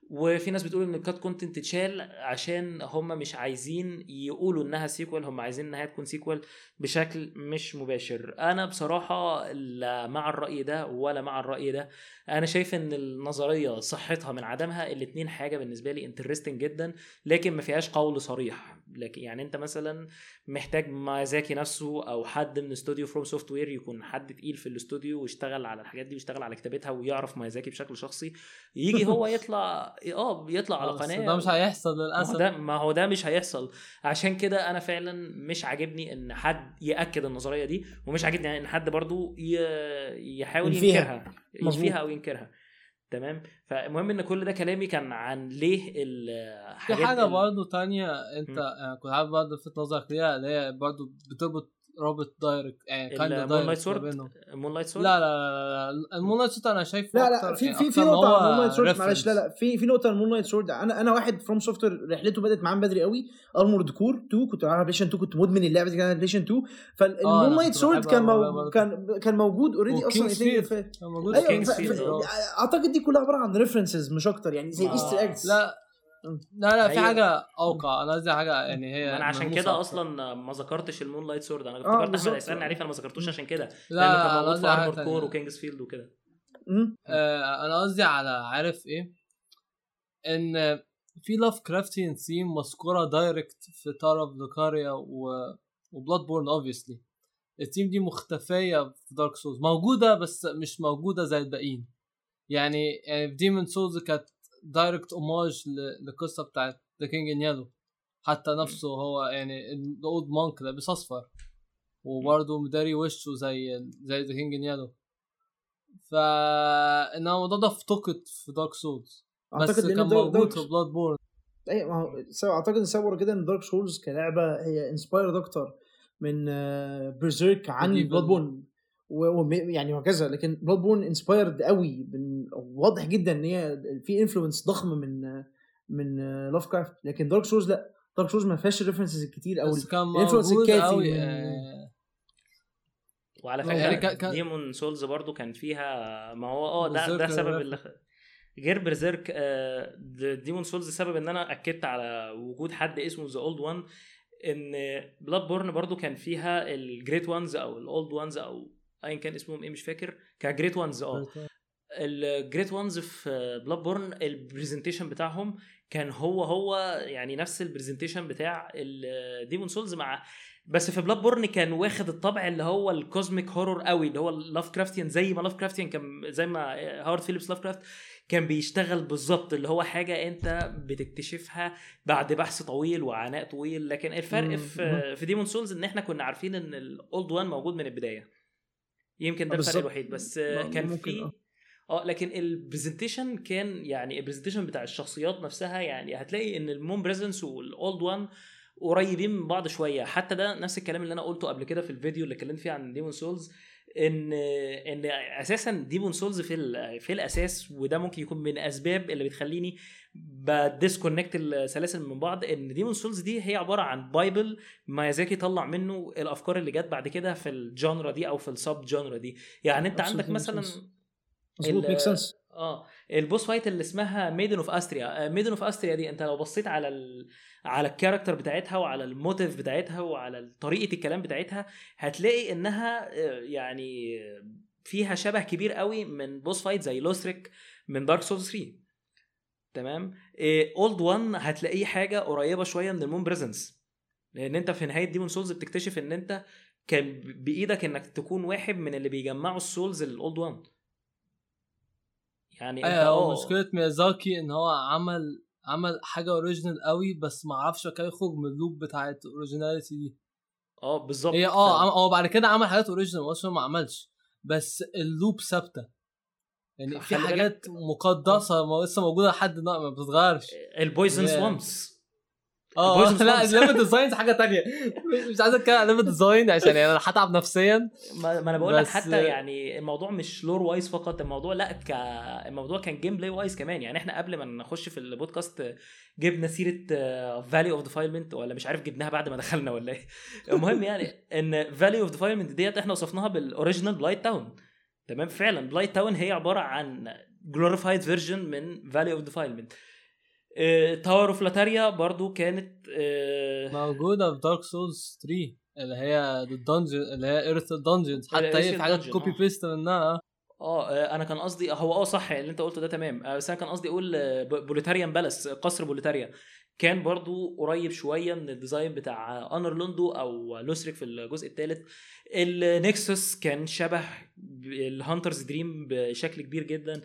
وفي ناس بتقول ان الكات كونتنت اتشال عشان هم مش عايزين يقولوا انها سيكوال، هم عايزين انها تكون سيكوال بشكل مش مباشر. انا بصراحة لا مع الرأي ده ولا مع الرأي ده. انا شايف ان النظرية صحتها من عدمها، الاتنين حاجة بالنسبة لي انترستنج جدا لكن ما فيهاش قول صريح. لكن يعني انت مثلا محتاج ميازاكي نفسه او حد من استوديو فروم سوفت وير يكون حد تقيل في الاستوديو واشتغل على الحاجات دي واشتغل على كتابتها ويعرف ميازاكي بشكل شخصي، يجي هو يطلع اه يطلع على قناه. ده مش هيحصل للاسف. ما هو ده ما هو ده مش هيحصل. عشان كده انا فعلا مش عاجبني ان حد ياكد النظريه دي، ومش عاجبني ان حد برضو يحاول ينكرها ينفيها او ينكرها. تمام. فالمهم ان كل ده كلامي كان عن ليه الحاجات. في حاجه برضو تانية انت يعني كنت عارف برضو في نظرك ليها، اللي هي برضو بتربط رابط دايركت يعني كان دايركت مون لايت سورد. لا لا لا لا المون لايت سورد انا شايفه لا لا في في في نقطه عن مون لايت سورد معلش. لا لا في في نقطه عن مون لايت سورد. انا انا واحد فروم سوفت وير رحلته بدات معاه بدري قوي. ارمورد كور اتنين كنت على بلايستيشن اتنين، كنت مدمن اللعبه دي كانت بلايستيشن اتنين. فالمون لايت سورد كان مو... كان كان موجود اوريدي اصلا. في أيوة اعتقد دي كلها عباره عن ريفرنسز مش اكتر يعني زي ايستر ايجز. لا لا لا في حاجه اوقع. انا قصدي حاجه يعني هي انا عشان كده اصلا ما ذكرتش المون لايت سورد. انا افتكرت احمد هيسالني عليه فانا ما ذكرتوش عشان كده لانه كان موجود في ارمورد كور وكينجز فيلد وكده. آه انا قصدي على عارف ايه ان في لاف كرافتين ثيم مذكوره دايركت في تار اوف لوكاريا وبلاد بورن. اوبviously الثيم دي مختفيه في دارك سولز، موجوده بس مش موجوده زي الباقيين. يعني يعني في ديمون سولز كانت دايركت اوماج للقصه بتاعت ذا كينج ان يلو، حتى نفسه هو يعني الاولد مونك لابس اصفر وبرضه مداري وشه زي زي ذا كينج ان يلو. فان الموضوع ده افتقد في دارك سولز بس كان موجود في بلاد بورن. اي ما هو اعتقد نصور كده ان دارك سولز كلعبه هي انسبايرد اكتر من برزيرك عن بلاد بورن ويعني وكذا. لكن بلاد بورن انسبايرد قوي، واضح جدا ان هي في انفلونس ضخم من من لاف كرافت. لكن دارك سولز لا، دارك سولز ما فيهاش الريفرنسز الكتير او الانفلونس الكافي من... آه... وعلى فكره يعني كان... ديمون سولز برضو كان فيها ما هو اه ده ده سبب اللي غير برزيرك. آه ديمون سولز سبب ان انا اكدت على وجود حد اسمه ذا اولد وان، ان بلاد بورن برضو كان فيها الجريت وانز او الاولد وانز او ايا كان اسمهم ايه مش فاكر، كجريت وانز. اه الجريت وانز في بلاد بورن البرزنتيشن بتاعهم كان هو هو يعني نفس البرزنتيشن بتاع الديمون سولز، مع بس في بلاد بورن كان واخد الطبع اللي هو الكوزميك هورور قوي اللي هو لاف كرافتيان، زي ما لاف كرافتيان كان زي ما هاورد فيليبس لاف كرافت كان بيشتغل بالظبط، اللي هو حاجه انت بتكتشفها بعد بحث طويل وعناء طويل. لكن الفرق في في ديمون سولز ان احنا كنا عارفين ان الاولد وان موجود من البدايه، يمكن ده الفرق الوحيد. بس كان في اه لكن البرزنتيشن كان يعني البرزنتيشن بتاع الشخصيات نفسها يعني هتلاقي ان المون بريزنس والاولد وان قريبين من بعض شويه. حتى ده نفس الكلام اللي انا قلته قبل كده في الفيديو اللي اتكلمت فيه عن ديمون سولز، ان ان اساسا ديمون سولز في في الاساس، وده ممكن يكون من اسباب اللي بتخليني بديسكونكت السلاسل من بعض، ان ديمون سولز دي هي عباره عن بايبل ميازاكي طلع منه الافكار اللي جت بعد كده في الجانرا دي او في السب جانرا دي. يعني انت عندك مثلا مظبوط ميك سنس اه البوس فايت اللي اسمها ميدن اوف استريا. ميدن اوف استريا دي انت لو بصيت على ال... على الكاركتر بتاعتها وعلى الموتيف بتاعتها وعلى طريقه الكلام بتاعتها هتلاقي انها يعني فيها شبه كبير قوي من بوس فايت زي لوثريك من دارك سولز ثري. تمام. اولد وان هتلاقيه حاجه قريبه شويه من المون بريزنس، لان انت في نهايه ديمون سولز بتكتشف ان انت كان بايدك انك تكون واحد من اللي بيجمعوا السولز للاولد وان. يعني انت اه مشكله ميازاكي ان هو عمل عمل حاجه اوريجينال قوي بس ما عرفش كيف يخرج من اللوب بتاعه الاوريجيناليتي دي. اه بالظبط. هي اه هو بعد كده عمل حاجات اوريجينال اصلا ما عملش، بس اللوب ثابته يعني في حاجات مقدسه ما لسه موجوده لحد دلوقتي ما بتتغيرش. البويزن سوامبس اه لا الليفل ديزاين حاجه تانية مش عايز اتكلم عن الليفل ديزاين عشان يعني انا هتعب نفسيا. ما انا بقول لك حتى يعني الموضوع مش لور وايز فقط، الموضوع لا ك الموضوع كان جيم بلاي وايز كمان. يعني احنا قبل ما نخش في البودكاست جبنا سيره فالي اوف ديفايلمنت، ولا مش عارف جبناها بعد ما دخلنا ولا ايه. المهم يعني ان فالي اوف ديفايلمنت ديت احنا وصفناها بالاوريجينال بلايت تاون. تمام. فعلا بلايت تاون هي عباره عن glorified version من فالي اوف ديفايلمنت. تاور اوف لاتاريا برضو كانت آه موجوده في دارك سولز ثلاثة اللي هي الدنجن اللي هي ايرث دنجنز، حتى هي في حاجات كوبي بيست منها. اه انا كان قصدي هو اه صح اللي انت قلته ده تمام، بس انا كان قصدي اقول بوليتاريان بالاس، قصر بوليتاريا كان برضو قريب شويه من الديزاين بتاع انر لوندو او لوسريك في الجزء الثالث. النكسس كان شبه الهانترز دريم بشكل كبير جدا.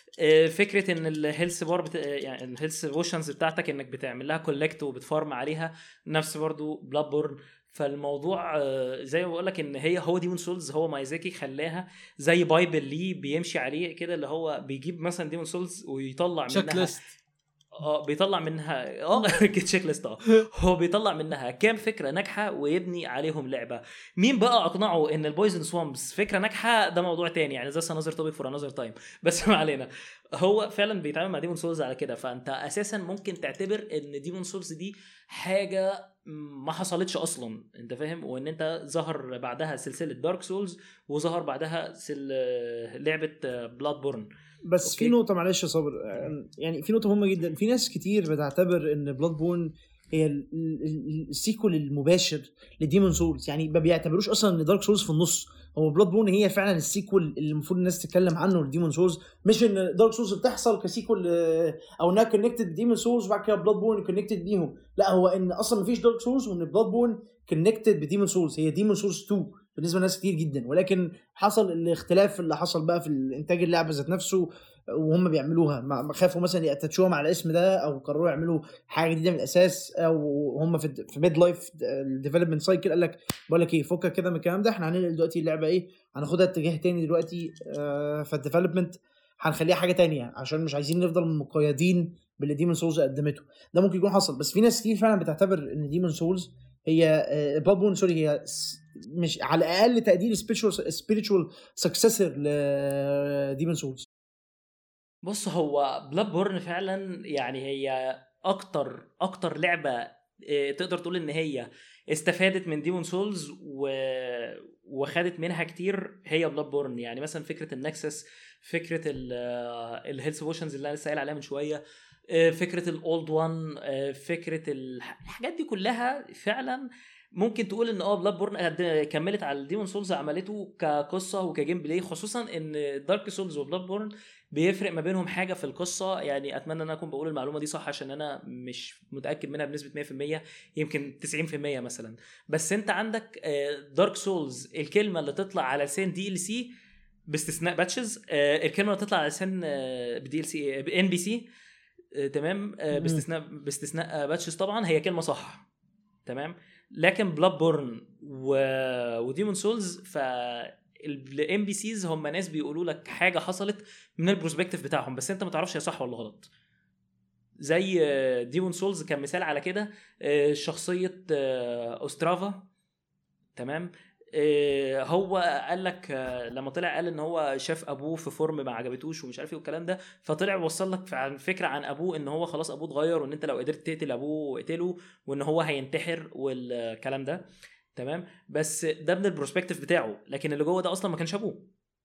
فكره ان الهيلث بار بت... يعني الهيلث بوشنز بتاعتك انك بتعمل لها كولكت وبتفارم عليها، نفس برضو بلاد بورن. فالموضوع زي ما بقول لك ان هي هو ديمون سولز هو مايزاكي خلاها زي بايبل ليه بيمشي عليه كده، اللي هو بيجيب مثلا ديمون سولز ويطلع منها اه بيطلع منها اه تشيك ليست اه هو بيطلع منها كام فكره ناجحه ويبني عليهم لعبه. مين بقى اقنعه ان البويزن سوامبس فكره ناجحه ده موضوع تاني يعني، زي نظر توبيك فور انذر تايم، بس ما علينا. هو فعلا بيتعامل مع ديمون سولز على كده، فانت اساسا ممكن تعتبر ان ديمون سولز دي حاجه ما حصلتش اصلا، انت فاهم، وان انت ظهر بعدها سلسله دارك سولز وظهر بعدها سل... لعبه بلاد بورن. بس أوكي. في نقطه معلش يا صابر، يعني في نقطه مهمه جدا. في ناس كتير بتعتبر ان بلاد بورن هي السيكول المباشر لديمون سولز، يعني ما بيعتبروش اصلا ان دارك سولز في النص. هو بلاد بورن هي فعلا السيكول اللي المفروض الناس تتكلم عنه لديمون سولز، مش ان دارك سولز بتحصل كسيكول او انها كونكتد بديمون سولز وبعد كده بلاد بورن كونكتد بيهم. لا، هو ان اصلا مفيش دارك سولز وان بلاد بورن كونكتد بديمون سولز، هي ديمون سولز اتنين بالنسبه لناس كتير جدا. ولكن حصل الاختلاف اللي حصل بقى في الانتاج اللعبه ذات نفسه وهم بيعملوها، ما خافوا مثلا ياتشوها مع الاسم ده او قرروا يعملوا حاجه جديده من الاساس، او هم في في ميد لايف ديفلوبمنت سايكل قال لك بقول لك ايه، فكك كده من الكلام ده، احنا هننقل دلوقتي اللعبه ايه، هناخدها اتجاه تاني دلوقتي آه في الديفلوبمنت، هنخليها حاجه تانية عشان مش عايزين نفضل مقيدين باللي ديمون سولز قدمته. ده ممكن يكون حصل، بس في ناس كتير فعلا بتعتبر ان ديمون سولز هي بلاد بورن سوري هي مش على الاقل تقدير spiritual spiritual successor لديمون سولز. بص، هو بلاد بورن فعلا يعني هي اكتر اكتر لعبه تقدر تقول ان هي استفادت من ديمون سولز و... وخدت منها كتير هي بلاد بورن. يعني مثلا فكره النكسس، فكره الهيلث بوشنز اللي انا لسه قايل عليها من شويه، فكره الاولد وان، فكره الحاجات دي كلها فعلا ممكن تقول ان اه بلاد بورن كملت على الديمون سولز عملته كقصه وكجيم بلاي، خصوصا ان دارك سولز وبلاد بورن بيفرق ما بينهم حاجه في القصه. يعني اتمنى ان انا اكون بقول المعلومه دي صح عشان انا مش متاكد منها بنسبه مية في المية، يمكن تسعين في المية مثلا. بس انت عندك دارك سولز الكلمه اللي تطلع على لسان دي ال سي باستثناء باتشز، الكلمه اللي تطلع على لسان بدي ال سي ان بي سي تمام، باستثناء باستثناء باتشز طبعا هي كلمه صح تمام. لكن بلاد بورن و... وديمون سولز ف الام بي سيز هم ناس بيقولوا لك حاجه حصلت من البروسبكتيف بتاعهم، بس انت ما تعرفش هي صح ولا غلط. زي ديمون سولز كان مثال على كده، شخصيه اوسترافا تمام. هو قال لك لما طلع قال ان هو شاف ابوه في فورم ما عجبتوش ومش عارف ايه والكلام ده، فطلع وصل لك فكره عن ابوه ان هو خلاص ابوه اتغير، وان انت لو قدرت تقتل ابوه اقتله، وان هو هينتحر والكلام ده تمام. بس ده من البروسبكتيف بتاعه، لكن اللي جوه ده اصلا ما كانش ابوه.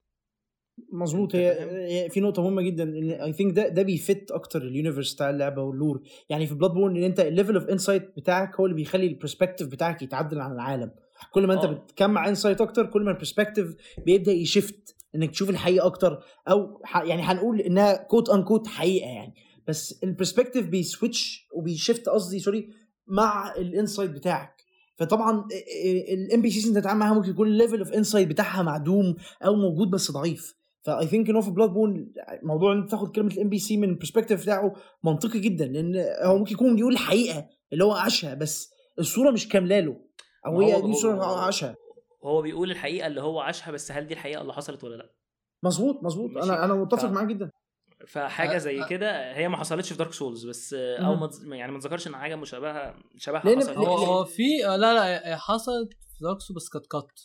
مظبوط. هي في نقطه مهمه جدا ان اي ثينك ده ده بيفت اكتر اليونيفرس بتاع اللعبه واللور. يعني في بلاد بورن ان انت الليفل اوف انسايت بتاعك هو اللي بيخلي البرسبكتيف بتاعك يتعدل عن العالم. كل ما انت أوه. بتجمع انسايت اكتر كل ما البرسبكتيف بيبدا يشفت انك تشوف الحقيقه اكتر، او يعني هنقول انها كوت ان كوت حقيقه يعني، بس البرسبكتيف بيسويتش وبيشفت قصدي سوري مع الانسايت بتاعك. فطبعا الام بي سيز انت تتعامل معاها ممكن يكون الليفل اوف انسايت بتاعها معدوم او موجود بس ضعيف. فاي ثينك انه في بلاد بورن موضوع انك تاخد كلمه الام بي سي من البرسبكتيف بتاعه منطقي جدا، لان هو ممكن يكون بيقول الحقيقه اللي هو عاشها بس الصوره مش كامله له، او هي دي صوره عاشها. هو بيقول الحقيقه اللي هو عاشها، بس هل دي الحقيقه اللي حصلت ولا لا؟ مظبوط مظبوط. انا انا متفق ف... معاك جدا. فحاجه زي كده هي ما حصلتش في دارك سولز، بس او ما يعني ما ذكرش ان حاجه مشابهه شبهها حصلت. هو هو في لا لا حصلت في دارك سولز بس كانت كات.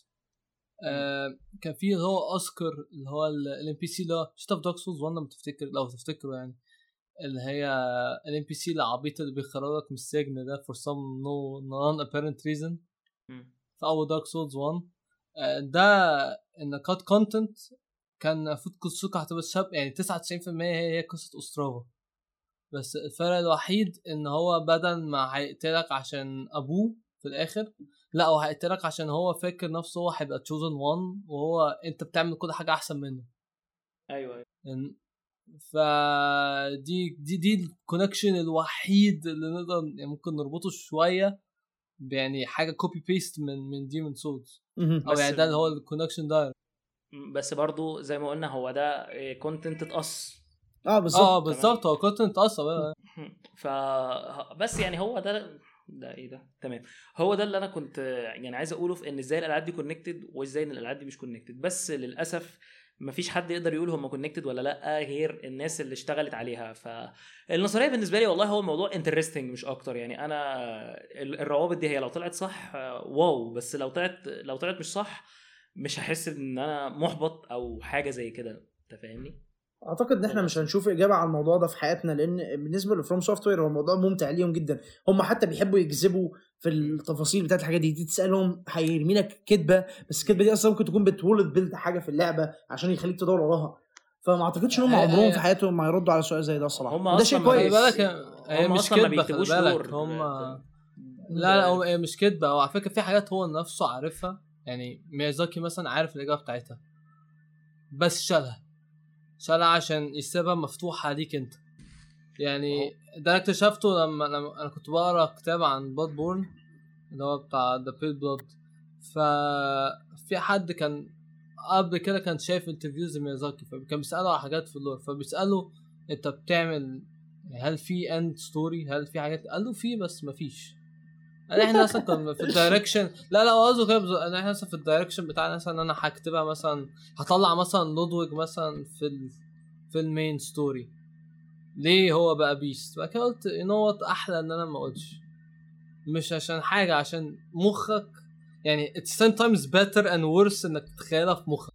آه كان في اللي هو اوسكار اللي هو الام بي سي اللي شفته في دارك سولز وانا متفتكر لو تفتكروا يعني، اللي هي الام بي سي العبيط اللي بيخرجك من السجن ده for some no non apparent reason في اول دارك سولز واحد. آه ده ان كات كونتنت كان المفروض قصته هتبقى شاب يعني تسعة وتسعين في المية هي هي قصه اوسترافا. بس الفرق الوحيد ان هو بدل ما هيقتلك عشان ابوه في الاخر، لا هو هيقتلك عشان هو فاكر نفسه هو هيبقى chosen one وهو انت بتعمل كل حاجه احسن منه. ايوه ايوه. فدي دي دي الكونكشن الوحيد اللي نقدر يعني ممكن نربطه شويه يعني حاجه كوبي بيست من من ديمون سولز، او يعني ده اللي هو الكونكشن ده. بس برضو زي ما قلنا هو ده كونتنت اتقص. اه بالظبط اه بالظبط هو كونتنت اصلا. ف بس يعني هو ده ده ايه ده تمام. هو ده اللي انا كنت يعني عايز اقوله في ان ازاي الالعاب دي كونكتد وازاي ان الالعاب دي مش كونكتد. بس للاسف مفيش حد يقدر يقول هم كونكتد ولا لا غير الناس اللي اشتغلت عليها. فالنظريه بالنسبه لي والله هو الموضوع انترستنج مش اكتر. يعني انا الروابط دي هي لو طلعت صح واو، بس لو طلعت لو طلعت مش صح مش هحس ان انا محبط او حاجه زي كده. انت فاهمني؟ اعتقد ان احنا مش هنشوف اجابه على الموضوع ده في حياتنا، لان بالنسبه لفروم سوفت وير هو الموضوع ممتع ليهم جدا. هم حتى بيحبوا يجذبوا في التفاصيل بتاعت الحاجات دي. دي تسالهم هيرمي لك كذبه، بس الكذبه دي اصلا ممكن تكون بتولد بيلد حاجه في اللعبه عشان يخليك تدور وراها. فما اعتقدش ان هم عمرهم في حياتهم ما يردوا على سؤال زي ده الصراحه. وده شيء كويس. هي مش كذبه خلي بالك. هم لا لا هو مش كذبه. هو على فكره في حاجات هو نفسه عارفها. يعني ميازاكي مثلا عارف الاجابه بتاعتها بس شالها شالها عشان يسيبها مفتوحه ليك انت. يعني ده انا اكتشفته لما, لما انا كنت بقرا كتاب عن بلاد بورن اللي هو بتاع ذا بيل بلاد. ففي حد كان قبل كده كان شايف انترفيوز ميازاكي فكان بيساله على حاجات في اللور. فبيساله انت بتعمل هل في اند ستوري، هل في حاجات؟ قال له في بس مفيش. انا احنا اصلا كنا في الدايركشن لا لا قصده كده. انا احنا اصلا في الدايركشن بتاعنا مثلا انا هكتبها مثلا هطلع مثلا لودويج مثلا في ال... في المين ستوري ليه هو بقى بيست. بقى قلت انه احلى ان انا ما اقولش مش عشان حاجه عشان مخك يعني it's ten times better and worse انك تتخيلها في مخك.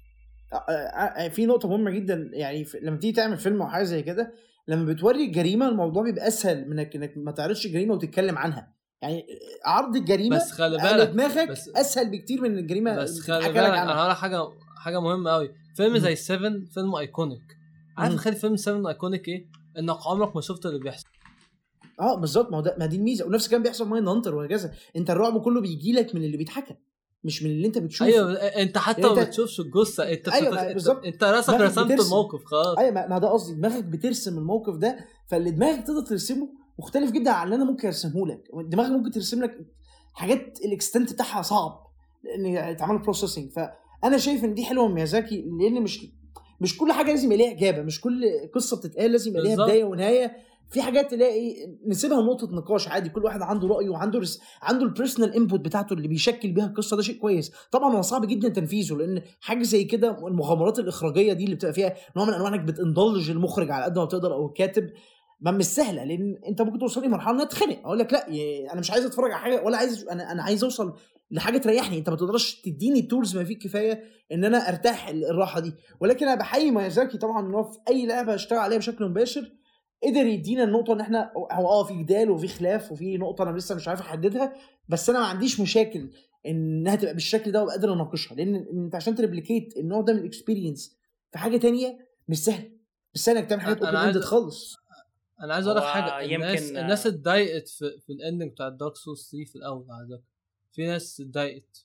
في نقطه مهمه جدا يعني لما تيجي تعمل فيلم او حاجه زي كده لما بتوري الجريمه الموضوع بيبقى اسهل من انك ما تعرضش الجريمه وتتكلم عنها. يعني عرض الجريمه بس خلي بالك دماغك بس اسهل بكتير من الجريمه. بس خلي بالك انا هقول حاجه حاجه مهمه قوي. فيلم زي سفن فيلم ايكونيك. عارف خلي فيلم سفن ايكونيك ايه؟ انك عمرك ما شفت اللي بيحصل. اه بالظبط. ما, ما دي الميزه. ونفس كان بيحصل ماين هانتر وهكذا. انت الرعب كله بيجي لك من اللي بيتحكى مش من اللي انت بتشوفه. ايوه انت حتى ما انت... بتشوفش الجثه انت أيوة بتت... انت, انت راسك رسمت الموقف خلاص. ايوه ما ده قصدي دماغك بترسم الموقف ده. فاللي دماغك تقدر ترسمه مختلف جدا عن اللي انا ممكن ارسمه لك. دماغك ممكن ترسم لك حاجات الاكستنت بتاعها صعب ان يتعمل بروسيسنج. فانا شايف ان دي حلوه من ميازاكي لان مش مش كل حاجه لازم يلاقي اجابه. مش كل قصه بتتقال لازم يلاقي بدايه ونهايه. في حاجات تلاقي نسيبها نقطه نقاش عادي. كل واحد عنده رايه وعنده رس... عنده البيرسونال انبوت بتاعته اللي بيشكل بيها القصه. ده شيء كويس. طبعا هو صعب جدا تنفيذه لان حاجه زي كده المغامرات الاخراجيه دي اللي بتبقى فيها نوع من انواع انك بتندلج المخرج على قد ما بتقدر او الكاتب ما مش سهله. لان انت ممكن توصل لمرحله ان اتخنق اقول لك لا انا مش عايز اتفرج على حاجه ولا عايز انا انا عايز اوصل لحاجه تريحني. انت ما تقدرش تديني التولز ما فيك كفايه ان انا ارتاح الراحه دي. ولكن انا بحيي ميازاكي طبعا ان هو في اي لعبه اشتغل عليها بشكل مباشر قدر يدينا النقطه ان احنا هو اه في جدال وفي خلاف وفي نقطه انا لسه مش عارف احددها. بس انا ما عنديش مشاكل انها تبقى بالشكل ده وقادر اناقشها. لان انت عشان تريبليكيت النوع ده من الاكسبيرينس في حاجه تانية مش سهل. مش سهل انك تعمل حاجات اوبن اندد خالص. انا عايز اقول لك حاجه. الناس يمكن... الناس اتضايقت في, في الاندنج بتاع دارك سولز ثلاثة في الاول. على في ناس اتضايقت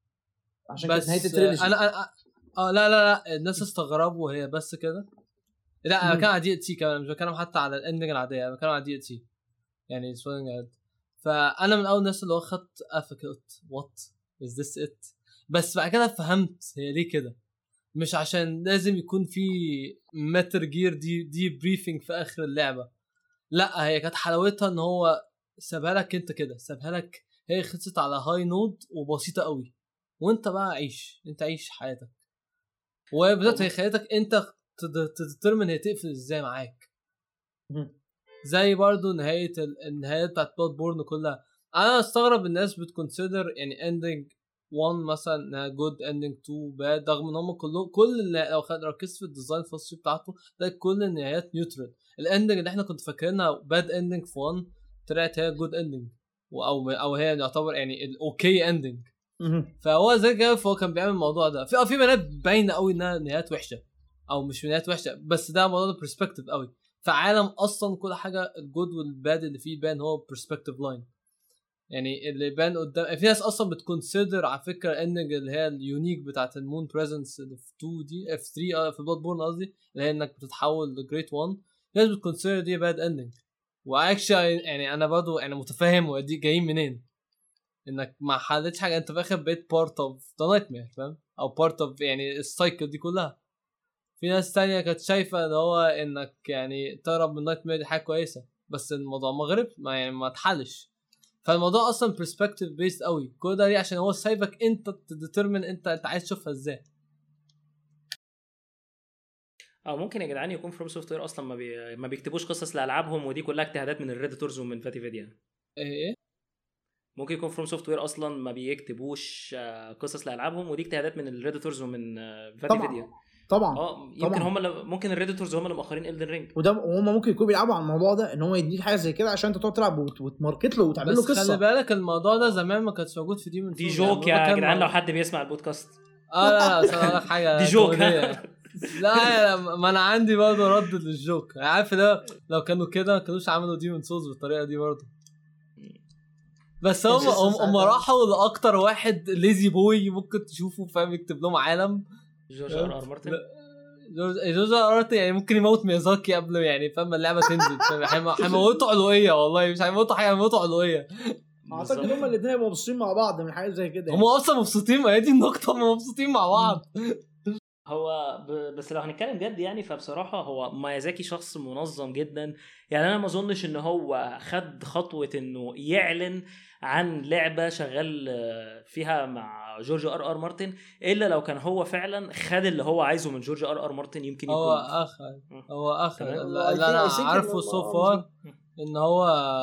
عشان كده نهايه التريلوجي. انا اه أنا... لا لا لا الناس استغربوا هي بس كده. لا انا بتكلم على دي سي كمان مش بتكلم حتى على الاندنج العاديه. انا بتكلم على دي سي يعني سوينج هيد. فانا من اول الناس اللي هو خدت افكت وات از ذس ات. بس بعد كده فهمت هي ليه كده. مش عشان لازم يكون في متر جير دي دي بريفنج في اخر اللعبه. لا هي كانت حلاوتها ان هو سابها لك انت كده. سابها لك هي خلصت على هاي نود وبسيطه قوي وانت بقى عيش انت عيش حياتك. وبدات هي خليتك انت تدترمن هي تقفل ازاي معاك. زي برضو نهايه النهايه بتاعت بلاد بورن كلها. انا استغرب الناس بتكونسيدر يعني اندنج واحد مثلا جود اندنج اتنين باد رغم ان هم كلهم كل لو خد ركزت في الديزاين الفصلي بتاعته ده كل النهايات نيوترال. الاندنج اللي احنا كنت فاكرينها باد اندنج في واحد طلعت هي جود اندنج او او هي يعتبر يعني الاوكي اندنج. فهو زي كده فهو كان بيعمل الموضوع ده. في في بنات باينه قوي انها نهايات وحشه او مش نهايات وحشه بس ده موضوع برسبكتيف قوي. في عالم اصلا كل حاجه الجود والباد اللي فيه بان هو برسبكتيف لاين. يعني اللي بان قدام في ناس اصلا بتكونسيدر على فكره ان اللي هي اليونيك بتاعه المون بريزنس اللي في اتنين دي اف ثلاثة اه في بلاد بورن قصدي اللي هي انك بتتحول لجريت واحد. ناس بتكونسيدر دي باد اندنج. واكشلي يعني انا برضو يعني متفاهم ودي جايين منين انك ما حلتش حاجه، انت في الاخر بقيت بارت اوف ذا نايت مير فاهم او بارت اوف يعني السايكل دي كلها. في ناس تانية كانت شايفه ان هو انك يعني تهرب من نايت مير دي حاجه كويسه، بس الموضوع مغرب ما يعني ما اتحلش. فالموضوع اصلا برسبكتيف بيست قوي كل ده ليه؟ عشان هو سايبك انت تديترمن انت انت عايز تشوفها ازاي. او ممكن يا جدعان يكون فروم سوفت وير اصلا ما, بي... ما بيكتبوش قصص لالعابهم، ودي كلها اجتهادات من الريديتورز ومن فاتي فيديا. ايه ممكن يكون فروم سوفت وير اصلا ما بيكتبوش قصص لالعابهم، ودي اجتهادات من الريديتورز ومن فاتي فيديا. طبعا اه يمكن طبعا. هم اللي ممكن الريديتورز هم اللي مؤخرين إلدن رينج، وده وهم ممكن يكونوا بيلعبوا على الموضوع ده ان هو يديك حاجه زي كده عشان انت تقعد تلعب وت... وتماركت له وتعمل له قصه. بس خلي بالك الموضوع ده زمان ما كانش موجود في ديمون دي جوك يا جدعان لو حد بيسمع البودكاست. اه لا لا صراحه لك حاجه دي جوك. لا ما انا عندي برضه رد للجوك. عارف لو لو كانوا كده ما كانوش عملوا ديمون سولز بالطريقه دي برضه. بس هم هم راحوا لاكتر واحد ليزي بوي ممكن تشوفه فاهم يكتب لهم عالم. جورج ار ار مارتن. جورج ار مارتن يعني ممكن يموت ميازاكي قبل يعني فاهم اللعبه تنزل فاهم. هيموتوا علويه والله مش هيموتوا حاجه هيموتوا علويه. اعتقد هم الاثنين هيبقوا مبسوطين مع بعض من حاجه زي كده. هم اصلا مبسوطين ما هي دي النقطه هم مبسوطين مع بعض. هو ب... بس لو هنتكلم جد يعني فبصراحه هو ميازاكي شخص منظم جدا. يعني انا ما اظنش ان هو خد خطوه انه يعلن عن لعبه شغال فيها مع جورج ار ار مارتن الا لو كان هو فعلا خد اللي هو عايزه من جورج ار ار مارتن. يمكن يكون هو اخر هو اخر اللي انا عارفه سو فار ان هو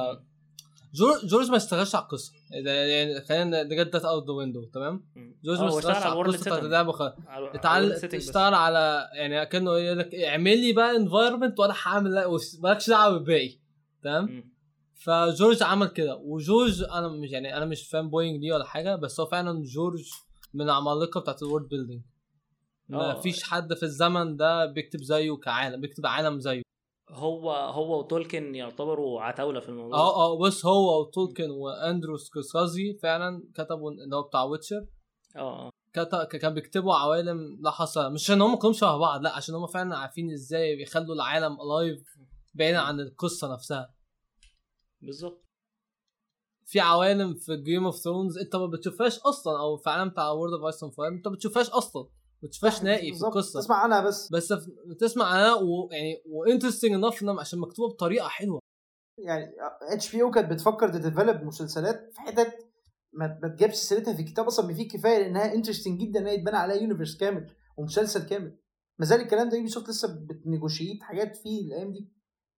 جورج جورج ما اشتغلش على القصه يعني خلينا نجد ذات اوت ذا ويندو تمام. جورج ما اشتغلش على القصه بتاعت اللعبه خالص. اتعلم اشتغل على يعني كانه يقول لك اعمل لي بقى انفايرمنت وانا هعمل مالكش دعوه بالباقي تمام. فجورج عمل كده. وجورج انا مش يعني انا مش فان بوينج دي ولا حاجه بس هو فعلا جورج من العمالقه بتاعت الورد بيلدينج. ما فيش حد في الزمن ده بيكتب زيه كعالم بيكتب عالم زيه. هو هو وتولكن يعتبروا عتاوله في الموضوع. اه اه بس هو وتولكن واندرو سكورسيزي فعلا كتبوا اللي هو بتاع ويتشر. اه كتب كان بيكتبوا عوالم لا حصر مش عشان هم كلهم شبه بعض لا عشان هم فعلا عارفين ازاي بيخلوا العالم الايف بعيدا عن القصه نفسها. بالظبط. في عوالم في جيم اوف ثرونز انت ما بتشوفهاش اصلا او في عالم بتاع وورد اوف ايس اند فاير انت ما بتشوفهاش اصلا ما بتشوفهاش نهائي في القصه. تسمع عنها بس بس بتسمع عنها ويعني وانترستنج انف عشان مكتوبه بطريقه حلوه. يعني اتش بي او كانت بتفكر تديفلوب مسلسلات في حتت ما ما تجيبش سيرتها في كتاب اصلا فيه كفايه لانها انترستنج جدا انها يتبنى عليها يونيفرس كامل ومسلسل كامل. ما زال الكلام ده يوبي لسه بتنيجوشيت حاجات فيه الايام دي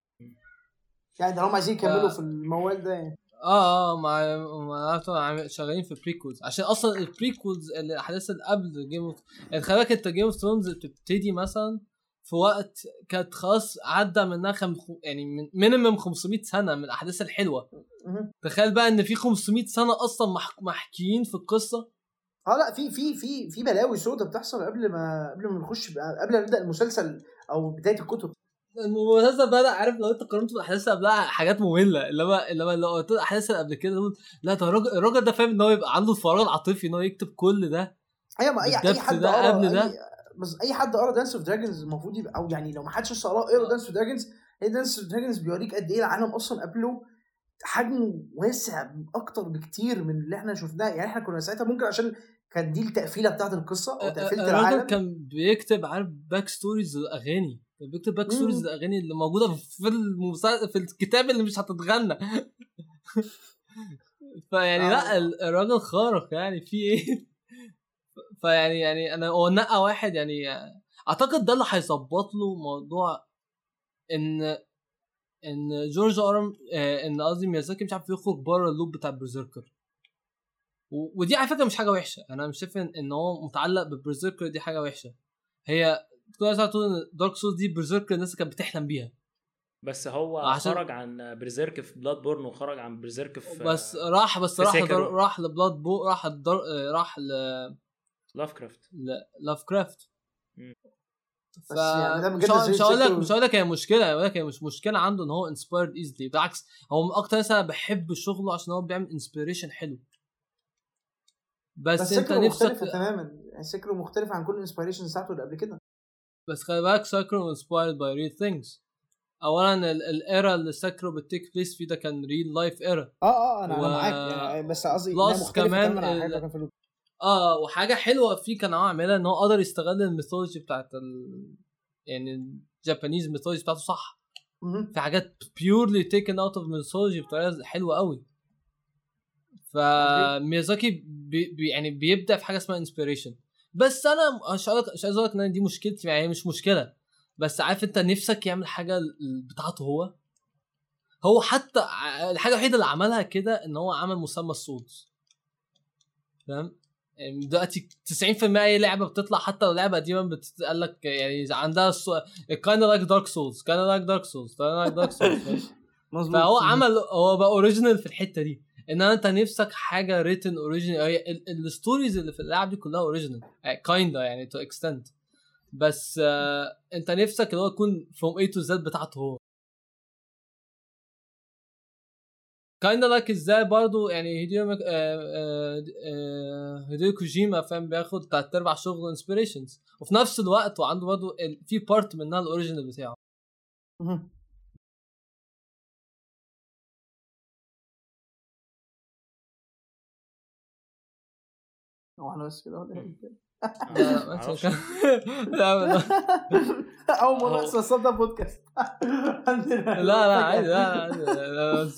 يعني ده هم عايزين يكملوا ف... في الموال ده يعني. اه اه مع مع شغالين في بريكولز عشان اصلا البريكولز الاحداث اللي قبل جيم اوف يعني خلي بالك انت جيم اوف ثرونز بتبتدي مثلا في وقت كانت خلاص عدى منها خم... يعني من مينيمم خمسمية سنه من الاحداث الحلوه. تخيل بقى ان في خمسمية سنه اصلا مح... محكيين في القصه. اه لا في في في في بلاوي سودة بتحصل قبل ما قبل ما نخش قبل ما نبدا المسلسل او بدايه الكتب. المسلسل بدأ عارف لو انت قارنته بالاحداث قبلها حاجات ممله اللي هو اللي هو لو الاحداث اللي قبل كده لا ده الراجل الراجل ده فاهم ان هو يبقى عنده الفراغ العاطفي ان هو يكتب كل ده. ايوه ما اي اي حد ده قبل ده بس اي حد قرا دانس اوف دراجونز المفروض يبقى او يعني لو ما حدش لسه قرا اقرا دانس اوف دراجونز. ايه دانس اوف دراجونز بيوريك قد ايه العالم اصلا قبله حجمه واسع اكتر بكتير من اللي احنا شفناه. يعني احنا كنا ساعتها ممكن عشان كان دي التقفيله بتاعه القصه او تقفيله العالم. الراجل كان بيكتب عارف باك ستوريز الاغاني كان بيكتب باك ستوريز الاغاني اللي موجوده في المسلسل في الكتاب اللي مش هتتغنى. فيعني آه. لا الراجل خارق يعني في ايه. فيعني يعني انا هو نقى واحد يعني اعتقد ده اللي هيظبط له موضوع ان ان جورج ارم آه ان قصدي ميازاكي مش عارف يخرج بره اللوب بتاع برزيركر. ودي على فكره مش حاجه وحشه انا مش شايف ان هو متعلق ببرزيركر دي حاجه وحشه. هي كل الناس تقول ان دارك سولز دي برزيركر الناس كانت بتحلم بيها بس هو عشان... خرج عن برزيرك في بلاد بورن وخرج عن برزيرك في بس راح بس راح لدر... راح لبلاد بو راح الدر... راح ل لاف كرافت ل... لاف كرافت ف مش هقول لك مش هقول لك هي مشكله ولكن هي مش مشكله عنده ان هو انسبايرد ايزلي. بالعكس هو من اكتر ناس انا بحب شغله عشان هو بيعمل انسبيريشن حلو. بس, بس انت نفسك تماما سيكرو مختلف عن كل الانسبيريشن ساعته اللي قبل كده. بس خلي بالك سيكرو انسبايرد باي ريل ثينجز. اولا الايرا اللي سيكرو بتيك بليس فيه ده كان ريل لايف ايرا. اه اه انا و... انا معاك يعني بس قصدي انها مختلفه كمان عن حاجه كان في اه وحاجه حلوه فيه كان عاملها ان هو قدر يستغل الميثولوجي بتاعت ال... يعني الجابانيز ميثولوجي بتاعته صح. م- في حاجات purely taken out of mythology بطريقه حلوه قوي. فميازاكي بي بي يعني بيبدا في حاجه اسمها inspiration. بس انا مش هقول مش عايز اقول لك ان دي مشكلتي يعني مش مشكله. بس عارف انت نفسك يعمل حاجه بتاعته هو هو حتى الحاجه الوحيده اللي عملها كده ان هو عمل مسمى السولز. فاهم يعني دلوقتي تسعين في المية اي لعبه بتطلع حتى لو لعبه قديمه بتقول لك يعني عندها كاين لايك دارك سولز كاين لايك دارك سولز كاين لايك دارك سولز. فهو عمل هو بقى اوريجينال في الحته دي ان انت نفسك حاجه ريتن اوريجينال. الستوريز اللي في اللعبه دي كلها اوريجينال كايندا يعني تو اكستنت. بس آه انت نفسك اللي هو يكون فروم اي تو زد بتاعته هو كايندا لايك ازاي برضو يعني هيديو آه آه آه هيديو كوجيما فاهم بياخد تلات ارباع شغل انسبيريشنز وفي نفس الوقت وعنده برضو في بارت منها الاوريجينال بتاعه. واحنا بس كده ولا ايه؟ لا لا اول مره احسن صوت ده بودكاست. لا لا عادي لا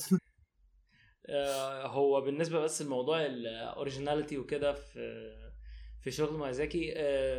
هو بالنسبه بس الموضوع الاوريجيناليتي وكده في في شغل ميازاكي.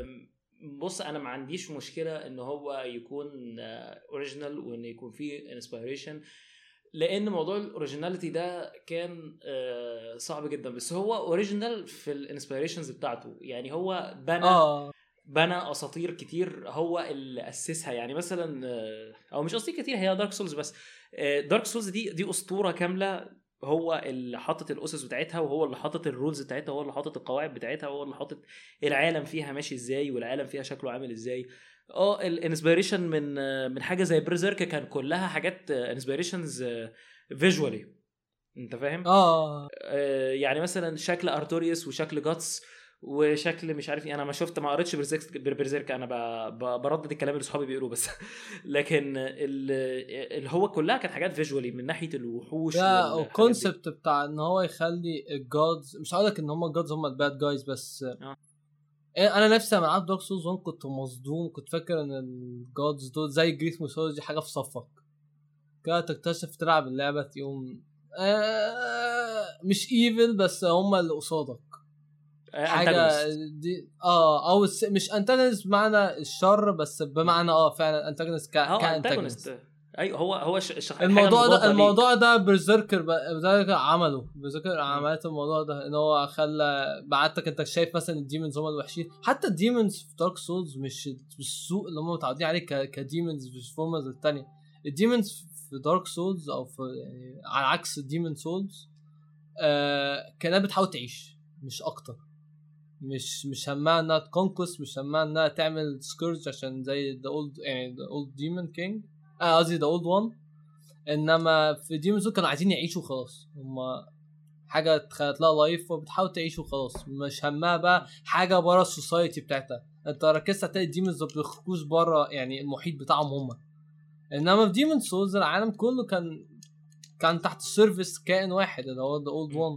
بص انا ما عنديش مشكله ان هو يكون اوريجينال وان يكون فيه انسبيريشن لان موضوع الاوريجيناليتي ده كان صعب جدا. بس هو اوريجينال في الانسبيريشنز بتاعته يعني هو بنى آه. بنى اساطير كتير هو اللي اسسها. يعني مثلا او مش اساطير كتير هي دارك سولز بس دارك سولز دي دي اسطوره كامله هو اللي حاطط الاسس بتاعتها وهو اللي حاطط الرولز بتاعتها وهو اللي حاطط القواعد بتاعتها وهو اللي حاطط العالم فيها ماشي ازاي والعالم فيها شكله عامل ازاي. اه الانسبيريشن من من حاجه زي بريزيرك كان كلها حاجات انسبيريشنز فيجوالي انت فاهم. اه يعني مثلا شكل ارتوريوس وشكل جاتس وشكل مش عارف ايه. انا ما شفت ما قريتش بريزيرك انا بردد الكلام اللي صحابي بيقولوه بس لكن اللي هو كلها كانت حاجات فيجوالي من ناحيه الوحوش والكونسبت بتاع ان هو يخلي الجودز مش هقول لك ان هم الجودز هم الباد جايز بس آه. انا نفسي لما لعبت دارك سولز واحد كنت مصدوم كنت فاكر ان الجودز دول زي جريس ميثولوجي حاجه في صفك كده تكتشف تلعب اللعبه يوم آه مش ايفل بس هم اللي قصادك حاجه دي اه او مش انتاجونست بمعنى الشر بس بمعنى اه فعلا انتاجونست كانتاجونست. ايوه هو هو ش... الموضوع ده الموضوع ده برزيركر برزيركر عمله برزيركر عملت الموضوع ده ان هو خلى بعتك انت شايف مثلا الديمونز هم الوحشين. حتى الديمونز في دارك سولز مش بالسوء اللي هم متعودين عليه كديمونز في فورمز الثانيه. الديمونز في دارك سولز او في يعني على عكس الديمون سولز آه كانت بتحاول تعيش مش اكتر. مش مش همها انها تكونكوس مش همها انها تعمل سكورج عشان زي ذا اولد يعني ذا اولد ديمون كينج اه قصدي ذا اولد وان. انما في ديمونز كانوا عايزين يعيشوا خلاص هم حاجه اتخلقت لها لايف وبتحاول تعيش وخلاص مش همها بقى حاجه بره السوسايتي بتاعتها. انت ركزت هتلاقي الديمونز ما بيخرجوش بره يعني المحيط بتاعهم هم. انما في ديمون سولز العالم كله كان كان تحت السيرفيس كائن واحد اللي هو ذا اولد وان.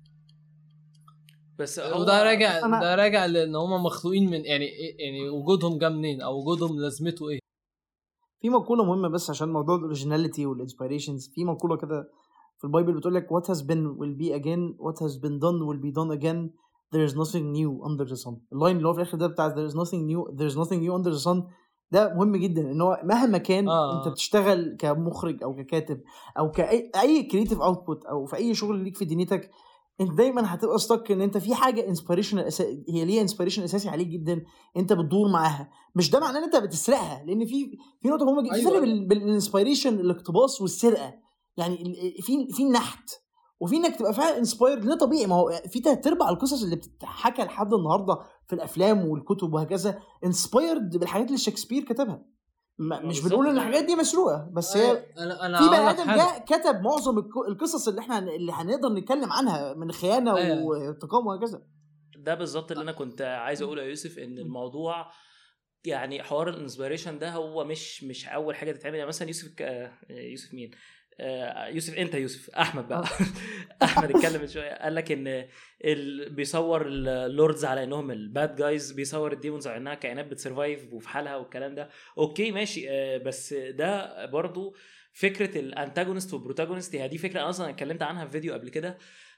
بس وده راجع ده راجع لان هم مخلوقين من يعني يعني وجودهم جه منين او وجودهم لازمته ايه. في مقوله مهمه بس عشان موضوع الاوريجيناليتي والانسبيريشنز. في مقوله كده في البايبل بتقول لك what has been will be again what has been done will be done again there is nothing new under the sun. اللاين اللي هو في الاخر ده بتاع there is nothing new there is nothing new under the sun ده مهم جدا. ان هو مهما كان آه. انت بتشتغل كمخرج او ككاتب او كاي اي كرييتيف اوتبوت او في اي شغل ليك في دنيتك انت دايما هتبقى ستك ان انت في حاجه انسبيريشن أسا... هي ليها انسبيريشن اساسي عليك جدا انت بتدور معاها. مش ده معناه ان انت بتسرقها لان في في نقطه مهمه جدا. أيوة. في فرق بين الانسبيريشن الاقتباس والسرقه. يعني في في النحت وفي انك تبقى فعلا انسبايرد. ليه طبيعي، ما هو في تلات ارباع القصص اللي بتتحكى لحد النهارده في الافلام والكتب وهكذا انسبايرد بالحاجات اللي شكسبير كتبها. مش بنقول ان الحاجات دي مسروقه، بس هي أنا أنا في بني ادم جاء كتب معظم القصص اللي احنا اللي هنقدر نتكلم عنها من خيانه وانتقام وهكذا. ده بالظبط اللي انا كنت عايز اقوله يا يوسف، ان الموضوع يعني حوار الانسبيريشن ده هو مش مش اول حاجه تتعمل. يعني مثلا يوسف يوسف مين يوسف انت يوسف احمد بقى احمد اتكلم من شويه قال لك ان ال... بيصور اللوردز على انهم الباد جايز، بيصور الديمونز على انها كائنات بتسرفايف وفي حالها والكلام ده. اوكي ماشي، بس ده برضو فكره الانتاجونست والبروتاجونست. هي دي فكره انا اصلا اتكلمت عنها في فيديو قبل كده.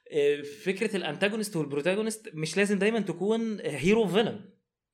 فكره الانتاجونست والبروتاجونست مش لازم دايما تكون هيرو فيلن.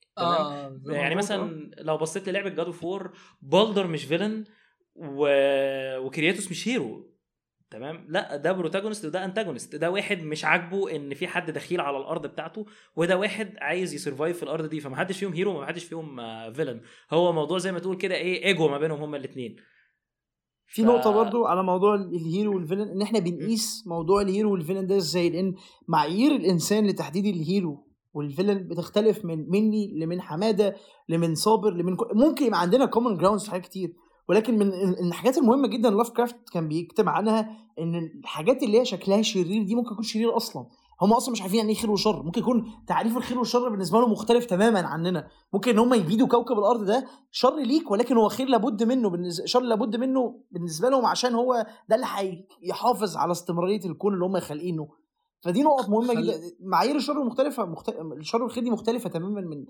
آه يعني مثلا لو بصيت للعبه جاد اوف وور، بالدر مش فيلن و... وكرياتوس مش هيرو، تمام؟ لا، ده بروتاجونست وده انتاجونست. ده واحد مش عاجبه ان في حد دخيل على الارض بتاعته، وده واحد عايز يسرفايف في الارض دي. فما حدش فيهم هيرو وما حدش فيهم فيلن. هو موضوع زي ما تقول كده ايه، ايجو ما بينهم هما الاثنين. في ف... نقطه برضو على موضوع الهيرو والفيلن، ان احنا بنقيس موضوع الهيرو والفيلن ده ازاي، لان معايير الانسان لتحديد الهيرو والفيلن بتختلف من مني لمن حماده لمن صابر لمن ك... ممكن يبقى عندنا كومن جراوندز في حاجات كتير، ولكن من الحاجات المهمه جدا لاف كرافت كان بيكتب عنها ان الحاجات اللي هي شكلها شرير دي ممكن يكون شرير اصلا. هم اصلا مش عارفين يعني ايه خير وشر. ممكن يكون تعريف الخير والشر بالنسبه لهم مختلف تماما عننا. ممكن ان هم يبيدوا كوكب الارض ده شر ليك، ولكن هو خير لابد منه بالنسبه شر لابد منه بالنسبه لهم، عشان هو ده اللي هيحافظ على استمراريه الكون اللي هم خالقينه. فدي نقط مهمه خل... جدا. معايير الشر مختلفه مخت... الشر والخير دي مختلفه تماما من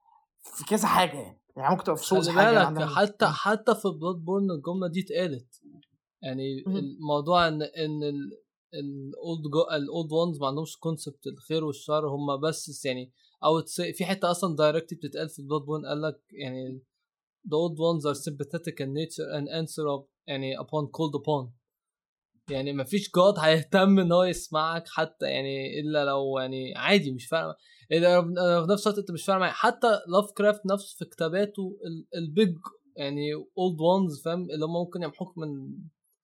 في كذا حاجه يعني, يعني ممكن تبقى في صوص حاجه عندها. حتى حتى في بلاد بورن الجمله دي اتقالت. يعني م- الموضوع ان ان الاولد الاولد وانز ما عندهمش كونسبت الخير والشر، هم بس يعني او في حته اصلا دايركتلي بتتقال في بلاد بورن، قال لك يعني the old ones are sympathetic in nature and answer up يعني upon called upon. يعني ما فيش جاد هيهتم ان هو يسمعك حتى يعني الا لو يعني عادي مش فارق. اذا في نفس الوقت انت مش فارق معاك. حتى لاف كرافت نفسه في كتاباته البيج يعني اولد وانز فاهم اللي هم ممكن يمحوك من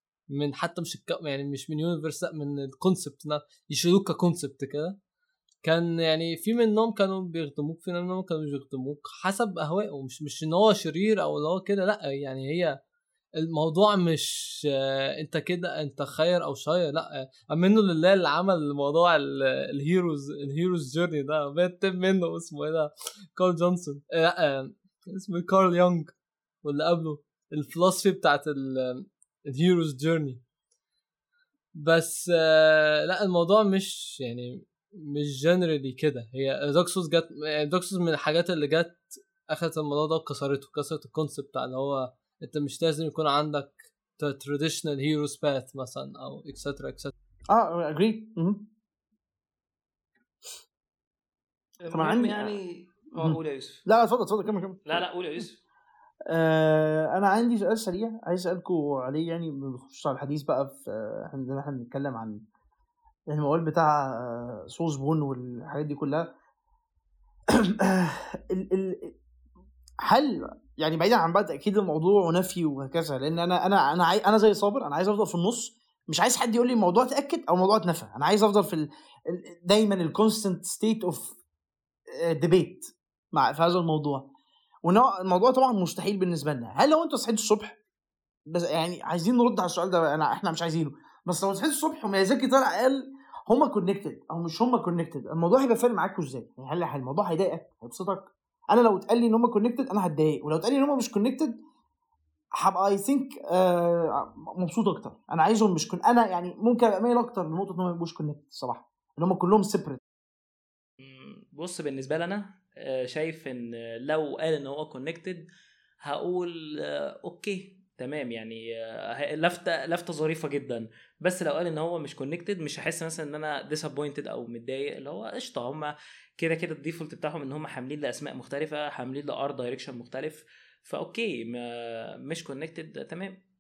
من حتى مش الك... يعني مش من يونيفرس من الكونسبت يشيلوك ككونسبت كده. كان يعني في منهم كانوا بيخدموك، في منهم كانوا بيخدموك حسب اهوائهم. مش مش ان هو شرير او اللي هو كده، لا يعني هي الموضوع مش انت كده انت خير او شاير، لا منه لله اللي عمل موضوع الهيروز الهيروز جيرني ده بيتم منه اسمه ايه ده كارل جونسون، لا اسمه كارل يونغ واللي قبله الفلسفي بتاعت الهيروز جيرني. بس لا الموضوع مش يعني مش جنرالي كده. هي دوكسوس جت دوكسوس من الحاجات اللي جت اخذت الموضوع ده وكسرته كسرت الكونسبت بتاع اللي هو انت مش لازم يكون عندك traditional heroes path مثلا او etc etc. اه agree. طبعا يعني اه قول يا يوسف. لا اتفضل اتفضل كمل كمل. لا لا قول يا يوسف. آه انا عندي سؤال سريع عايز اسالكم عليه، يعني بخصوص على الحديث بقى في عندنا احنا بنتكلم عن الموال بتاع سولز بون والحاجات دي كلها. ال ال هل يعني بعيدا عن بقى تاكيد الموضوع ونفي وهكذا، لان انا انا انا عاي... انا زي صابر انا عايز افضل في النص، مش عايز حد يقول لي الموضوع اتاكد او الموضوع اتنفى. انا عايز افضل في ال... دايما الكونستنت ستيت اوف ديبيت مع في هذا الموضوع. والموضوع طبعا مستحيل بالنسبه لنا. هل لو انتوا صحيتوا الصبح بس يعني عايزين نرد على السؤال ده، انا احنا مش عايزينه، بس لو صحيتوا الصبح وميازاكي طلع قال هما كونكتد او مش هما كونكتد، الموضوع هيبقى فارق معاكم ازاي؟ يعني هل الموضوع هيضايقك هيبسطك؟ انا لو اتقال لي ان هما كونكتد انا هتضايق، ولو اتقال لي ان هما مش كونكتد هبقى اي ثينك مبسوط اكتر. انا عايزهم مش كون انا يعني ممكن اميل اكتر لنقطه ان هم يبقوش كونكتد الصراحه، ان هم كلهم سيبريت. بص بالنسبه لنا شايف ان لو قال ان هو كونكتد هقول اوكي تمام، يعني لفته لفته ظريفه جدا. بس لو قال ان هو مش كونكتد مش هحس مثلا ان انا ديسابوينتد او متضايق، اللي هو قشطه هم كده كده الديفولت بتاعهم ان هم حاملين لاسماء مختلفه، حاملين لار دايركشن مختلف، فاوكي ما مش كونكتد تمام.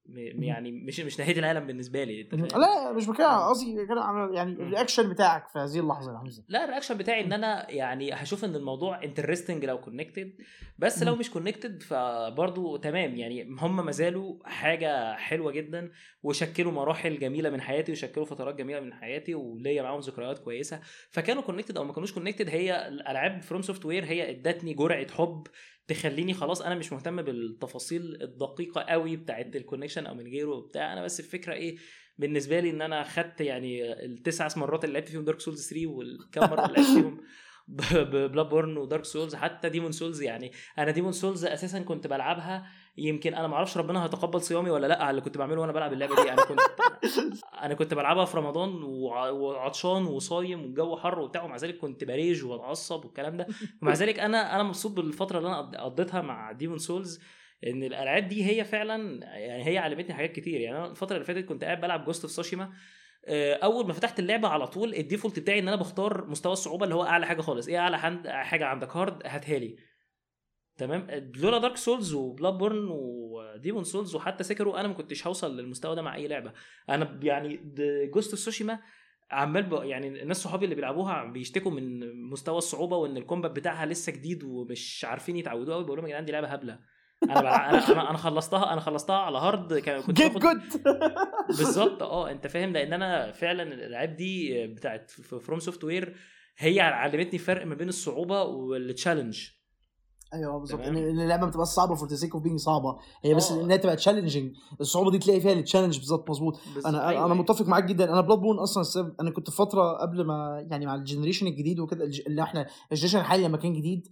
يعني مش مش نهايه العالم بالنسبه لي. لا مش بكده قصدي يعني الرياكشن بتاعك في هذه اللحظه يا حمزه. لا الرياكشن بتاعي ان انا يعني هشوف ان الموضوع انترستنج لو كونكتد، بس لو مش كونكتد فبرضو تمام. يعني هم ما زالوا حاجه حلوه جدا وشكلوا مراحل جميله من حياتي وشكلوا فترات جميله من حياتي وليا معاهم ذكريات كويسه. فكانوا كونكتد او ما كانوش كونكتد، هي الالعاب فروم سوفت وير هي ادتني جرعه حب تخليني خلاص انا مش مهتم بالتفاصيل الدقيقه قوي بتاعه الكونكشن او من غيره بتاع. انا بس الفكره ايه بالنسبه لي ان انا خدت يعني التسع مرات اللي لعبت فيهم دارك سولز ثري والكام مره اللي لعبت فيهم ببلاد بورن ودارك سولز حتى ديمون سولز. يعني انا ديمون سولز اساسا كنت بلعبها يمكن انا ما اعرفش ربنا هيتقبل صيامي ولا لا على اللي كنت بعمله وانا بلعب اللعبه دي. انا كنت انا كنت بلعبها في رمضان وعطشان وصايم والجو حر وبتاع، ومع ذلك كنت بريج واتعصب والكلام ده. ومع ذلك انا انا مبسوط بالفتره اللي انا قضيتها مع ديمون سولز، ان الالعاب دي هي فعلا يعني هي علمتني حاجات كتير. يعني انا الفتره اللي فاتت كنت قاعد بلعب جوست اوف سوشيما، اول ما فتحت اللعبه على طول الديفولت بتاعي ان انا بختار مستوى الصعوبه اللي هو اعلى حاجه خالص. ايه اعلى حاجه عندك؟ هارد، هاتها لي. تمام. لولا دارك سولز وبلاد بورن وديمون سولز وحتى سيكرو انا ما كنتش هوصل للمستوى ده مع اي لعبه. انا يعني جوست اوف سوشيما عمال يعني الناس صحابي اللي بيلعبوها بيشتكوا من مستوى الصعوبه وان الكومبات بتاعها لسه جديد ومش عارفين يتعودوا قوي. بقول لهم يا جدعان دي لعبه هبله. انا بلع... انا انا انا خلصتها انا خلصتها على هارد كان كنت باخد بالظبط. اه انت فاهم، لان انا فعلا الالعاب دي بتاعت فروم سوفت وير هي علمتني فرق ما بين الصعوبه والتشالنج. ايوه بالظبط، ان اللعبه بتبقى صعبه فور ذا سيك اوف بينج صعبه، هي بس انها تبقى تشالنجينج. الصعوبه دي تلاقي فيها التشالنج بالظبط. مظبوط. انا أيوة انا متفق معاك جدا. انا بلاد بون اصلا السبب انا كنت فتره قبل ما يعني مع الجنريشن الجديد وكده اللي احنا الجنريشن الحالي لما كان جديد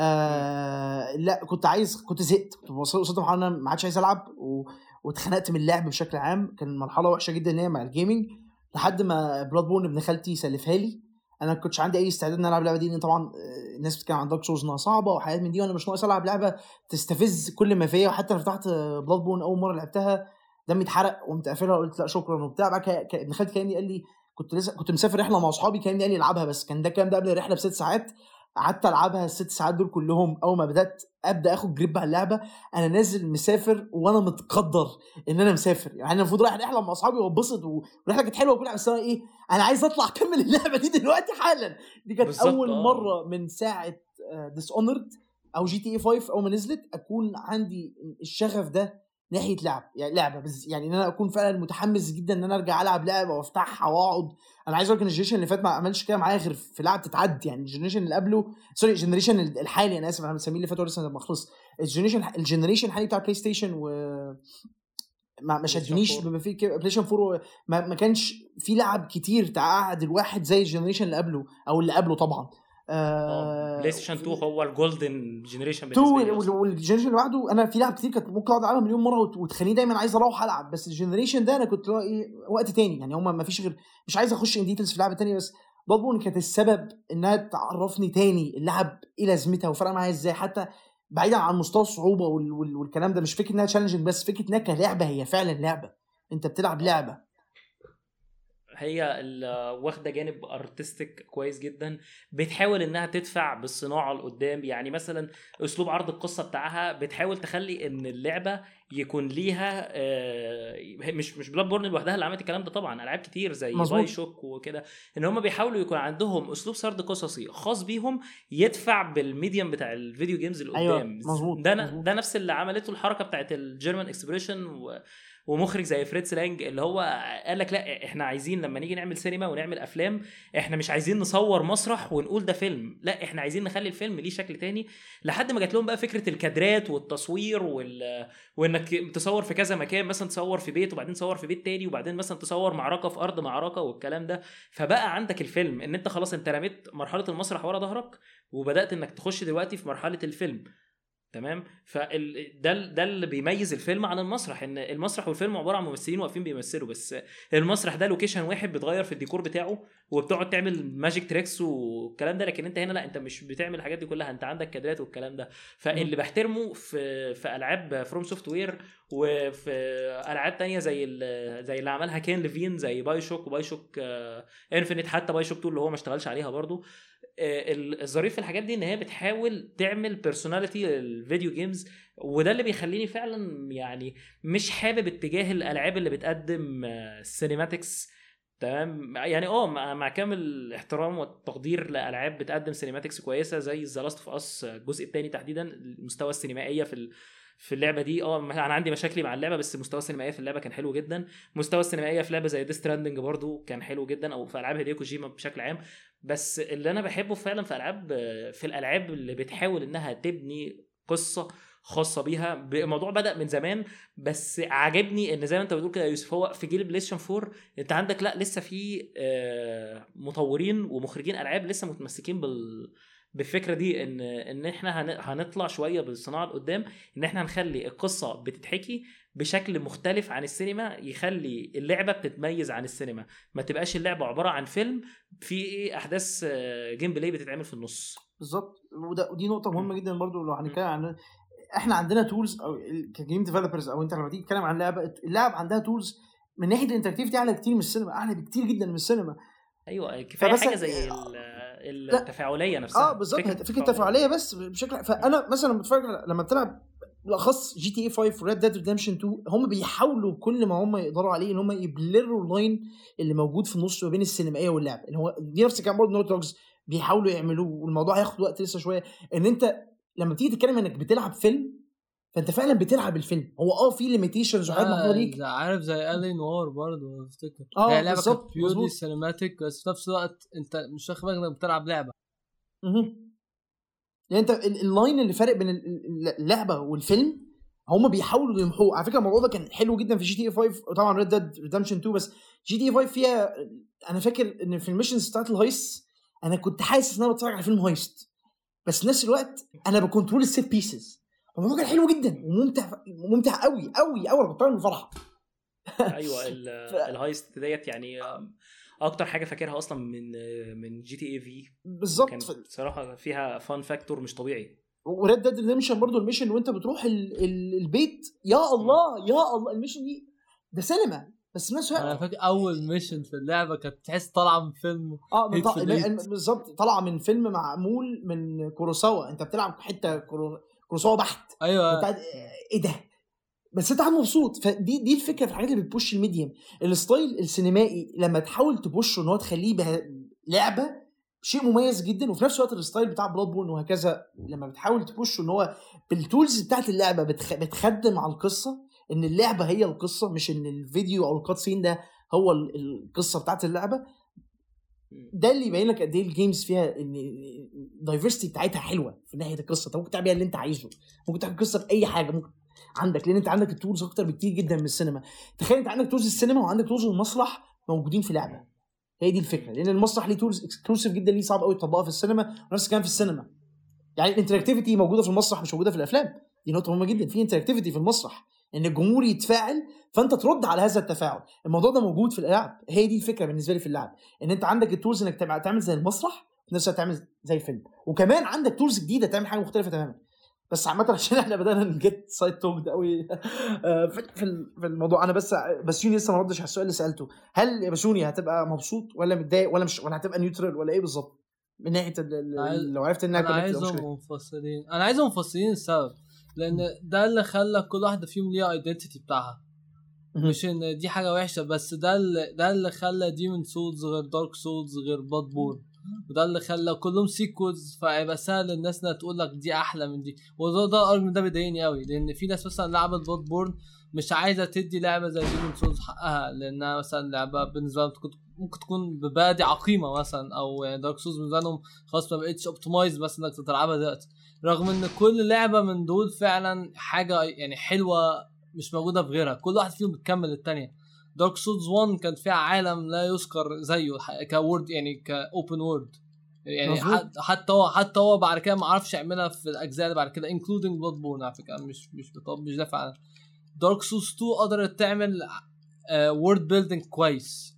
آه لا كنت عايز كنت زهقت كنت وصلت مرحله انا ما عادش عايز العب و... واتخنقت من اللعب بشكل عام. كان مرحله وحشه جدا ان هي مع الجيمنج لحد ما بلاد بون ابن خالتي سلفها لي. انا ما كنتش عندي اي استعداد ان العب اللعبه دي لان طبعا الناس بتتكلم عن دارك سولز انها صعبه وحاجات من دي وانا مش ناقص العب لعبه تستفز كل ما فيها. وحتى لما فتحت بلاد بون اول مره لعبتها دمي اتحرق وقمت قافلها وقلت لا شكرا وبتاع. بعد كده ابن خالتي كان قال لي كنت لسه كنت مسافر رحله مع اصحابي كان قال لي العبها، بس كان ده كان ده قبل الرحله بست ساعات. قعدت العبها الست ساعات دول كلهم. اول ما بدات ابدا اخد جريب على اللعبه انا نازل مسافر وانا متقدر ان انا مسافر. يعني انا المفروض رايح رحله مع اصحابي واتبسط والرحله كانت حلوه وكل حاجه، بس انا ايه انا عايز اطلع اكمل اللعبه دي دلوقتي حالا. دي كانت اول آه. مره من ساعه ديس اونرد او جي تي اي فايف اول ما نزلت اكون عندي الشغف ده ناحيه لعب يعني لعبه بس يعني ان انا اكون فعلا متحمس جدا ان انا ارجع العب لعبه وافتحها واقعد. انا عايز اقول لك ان الجنريشن اللي فات ما عملش كده معايا غير في لعب تتعدي. يعني الجنريشن اللي قبله سوري الجنريشن الحالي انا اسف انا مسميه اللي فات لسه ما خلص. الجنريشن الجنريشن الحالي بتاع بلاي ستيشن و ما ما شدنيش بما فيه بلاي ستيشن فور ما, ما كانش في لعب كتير تقعد الواحد زي الجنريشن اللي قبله او اللي قبله طبعا. آه بلاي ستيشن تو هو الجولدن جنريشن بالنسبه لي. والجنريشن اللي بعده انا في لعب كتير كنت ممكن اقعد العبها مليون مره وتخليني دايما عايز اروح العب. بس الجنريشن ده انا كنت ايه وقت تاني يعني هم ما فيش غير مش عايز اخش ان ديتيلز في لعبه تانية. بس بلاد بورن كانت السبب انها تعرفني تاني اللعب ايه لازمتها وفرق معايا ازاي حتى بعيدا عن مستوى الصعوبه وال وال والكلام ده. مش فكره انها تشالنجينج بس فكره انها كلعبه هي فعلا لعبه انت بتلعب لعبه. هي واخده جانب ارتستيك كويس جدا بتحاول انها تدفع بالصناعه لقدام. يعني مثلا اسلوب عرض القصه بتاعها بتحاول تخلي ان اللعبه يكون ليها مش مش بلاد بورن لوحدها اللي عملت الكلام ده طبعا العاب كتير زي باي شوك وكده ان هم بيحاولوا يكون عندهم اسلوب سرد قصصي خاص بيهم يدفع بالميديم بتاع الفيديو جيمز اللي قدام. أيوة مظبوط ده مزبوط. ده نفس اللي عملته الحركه بتاعت الجيرمان اكسبريشن و ومخرج زي فريتز لانج اللي هو قال لك لا احنا عايزين لما نيجي نعمل سينما ونعمل افلام احنا مش عايزين نصور مسرح ونقول ده فيلم، لا احنا عايزين نخلي الفيلم ليه شكل تاني. لحد ما جات لهم بقى فكره الكادرات والتصوير وال... وانك تصور في كذا مكان مثلا تصور في بيت وبعدين تصور في بيت تاني وبعدين مثلا تصور معركه في ارض معركه والكلام ده. فبقى عندك الفيلم ان انت خلاص انت رميت مرحله المسرح ورا ظهرك وبدات انك تخش دلوقتي في مرحله الفيلم. تمام. فال ده ده اللي بيميز الفيلم عن المسرح ان المسرح والفيلم عباره عن ممثلين واقفين بيمثلوا بس. المسرح ده لوكيشن واحد بتغير في الديكور بتاعه وبتقعد تعمل ماجيك تريكس والكلام ده. لكن انت هنا لا انت مش بتعمل الحاجات دي كلها انت عندك كادرات والكلام ده. فاللي بحترمه في في العاب فروم سوفت وير وفي العاب تانية زي زي اللي عملها كين ليفين زي باي شوك وباي شوك انفينيت حتى باي شوك تو اللي هو ما اشتغلش عليها برضو الظريف في الحاجات دي ان هي بتحاول تعمل بيرسوناليتي للفيديو جيمز، وده اللي بيخليني فعلا يعني مش حابب اتجاه الالعاب اللي بتقدم سينيماتكس. تمام يعني اه مع كامل الاحترام والتقدير لالعاب بتقدم سينيماتكس كويسه زي ذا لاست اوف اس الجزء الثاني تحديدا، المستوى السينمائيه في في اللعبه دي اه انا عندي مشاكل مع اللعبه، بس المستوى السينمائي في اللعبه كان حلو جدا. مستوى السينمائيه في لعبه زي ديث ستراندنج برضو كان حلو جدا، او في العاب هيديو كوجيما بشكل عام. بس اللي انا بحبه فعلا في العاب في الالعاب اللي بتحاول انها تبني قصه خاصه بيها. الموضوع بدا من زمان، بس عجبني ان زي ما انت بتقول كده يا يوسف، هو في جيل بلايستيشن فور انت عندك لا لسه في مطورين ومخرجين العاب لسه متمسكين بال بالفكره دي، ان ان احنا هنطلع شويه بالصناعه لقدام، ان احنا هنخلي القصه بتتحكي بشكل مختلف عن السينما، يخلي اللعبه بتتميز عن السينما، ما تبقاش اللعبه عباره عن فيلم في احداث جيم بلاي بتتعمل في النص. بالظبط، ودي نقطه مهمه جدا برضو لو هنتكلم عن احنا عندنا تولز او كجيم ديفلوبرز، او انت لما تيجي تتكلم عن لعبه، اللعب عندها تولز من ناحيه الانتراكتيفيتي اعلى كتير من السينما، اعلى بكتير جدا من السينما. ايوه كفايه حاجه زي التفاعليه نفسها. اه بالظبط، فكره التفاعليه بس بشكل. فانا مثلا بتفرج لما بتلعب بالاخص جي تي اي فايف وريد ديد ريدمشن تو، هم بيحاولوا كل ما هم يقدروا عليه ان هم يبلروا اللاين اللي موجود في النص ما بين السينمائيه واللعب، اللي هو دي نفس كان برضه نوت دوجز بيحاولوا يعملوه، والموضوع هياخد وقت لسه شويه. ان انت لما تيجي تتكلم انك بتلعب فيلم، فانت فعلا بتلعب الفيلم. هو اه في ليميتيشنز وحاجات محدوده ليك، عارف زي الين وور برضه افتكر اه هي لعبه بالظبط بيورلي سينماتيك، بس في نفس الوقت انت مش واخد بالك انك بتلعب لعبه. اها يعني انت اللاين اللي فارق بين اللعبه والفيلم هم بيحاولوا يمحوه. على فكره الموضوع ده كان حلو جدا في جي تي اي فايف، وطبعا ريد ديد ريدمشن تو. بس جي تي اي فايف فيها، انا فاكر ان في الميشنز بتاعت الهايست انا كنت حاسس ان انا بتفرج على فيلم هايست، بس في نفس الوقت انا بكنترول السيت بيسز. الموضوع كان حلو جدا وممتع ممتع قوي قوي قوي، انا كنت من الفرحه. ايوه الهايست ديت يعني اكتر حاجه فاكرها اصلا من من جي تي اي في بالظبط، بصراحه فيها فان فاكتور مش طبيعي. وريد ديد ريدمشن برضو الميشن وانت بتروح ال ال البيت، يا الله يا الله الميشن دي ده سينما. بس الناس انا فاكر اول ميشن في اللعبه كانت تحس طالعه من فيلم. اه بالظبط، طالعه من فيلم معمول من كوروساوا. انت بتلعب حته كورو... كوروساوا بحت. ايوه بتاعت... ايه ده، بس انت قاعد مبسوط. فدي دي الفكره في الحاجات اللي بتبوش الميديم. الستايل السينمائي لما تحاول تبوشه ان هو تخليه به... لعبه شيء مميز جدا، وفي نفس الوقت الستايل بتاع بلاد بون وهكذا لما بتحاول تبوشه ان هو بالتولز بتاعت اللعبه بتخ... بتخدم على القصه، ان اللعبه هي القصه مش ان الفيديو او الكاتسين ده هو القصه بتاعت اللعبه. ده اللي يبين لك قد ايه الجيمز فيها ان الدايفرستي بتاعتها حلوه في ناحيه القصه. انت ممكن تعمل اللي انت عايزه، ممكن تعمل قصه باي حاجه ممكن عندك، لان انت عندك التولز اكتر بكتير جدا من السينما. تخيل انت عندك تولز السينما وعندك تولز المسرح موجودين في لعبه. هي دي الفكره، لان المسرح ليه تولز اكسكلوسيف جدا، ليه صعب قوي تطبقها في السينما، ونفس الكلام في السينما. يعني الانتراكتيفيتي موجوده في المسرح مش موجوده في الافلام. دي نقطه مهمه جدا، في انتراكتيفيتي في المسرح ان الجمهور يتفاعل فانت ترد على هذا التفاعل. الموضوع ده موجود في الالعاب. هي دي الفكره بالنسبه لي في اللعب، ان انت عندك التولز انك تعمل زي المسرح في نفس الوقت تعمل زي الفيلم، وكمان عندك تولز جديده تعمل حاجه مختلفه تماما. بس عامه عشان احنا بدانا نجيت سايد توك قوي في في الموضوع. انا بس بسيوني لسه ما ردش على السؤال اللي سالته، هل يا بسيوني هتبقى مبسوط ولا متضايق ولا مش، ولا هتبقى نيوترال ولا ايه بالظبط من ناحيه لو عرفت انها انا عايزهم منفصلين؟ انا عايزهم منفصلين السبب لان ده اللي خلى كل واحده فيهم ليها ايدنتيتي بتاعها، مش ان دي حاجه وحشه، بس ده اللي ده اللي خلى ديمون سولز غير دارك سولز غير بلاد بورن، وده اللي خلى كلهم سيكوز، فيبقى سهل الناس انها تقول لك دي احلى من دي. وده ده الارجيومنت ده بيضايقني قوي، لان في ناس مثلا لعبت بلاد بورن مش عايزه تدي لعبه زي ديمون سولز حقها، لانها مثلا لعبه بالنسبه لهم ممكن تكون ببادئ عقيمه مثلا، او يعني دارك سولز بالنسبه لهم خلاص ما بقتش اوبتمايز مثلا انك تلعبها دلوقتي، رغم ان كل لعبه من دول فعلا حاجه يعني حلوه مش موجوده في غيرها، كل واحد فيهم بتكمل الثانيه. دارك سولز واحد كان فيها عالم لا يذكر زيه كورد، يعني كاوبن وورد، يعني حتى هو حتى هو بعد كده ما عرفش يعملها في الاجزاء اللي بعد كده انكلودينج بلاد بورن. على فكره مش مش بطب مش دافع عنها. دارك سولز اتنين قدرت تعمل وورد بيلدينج كويس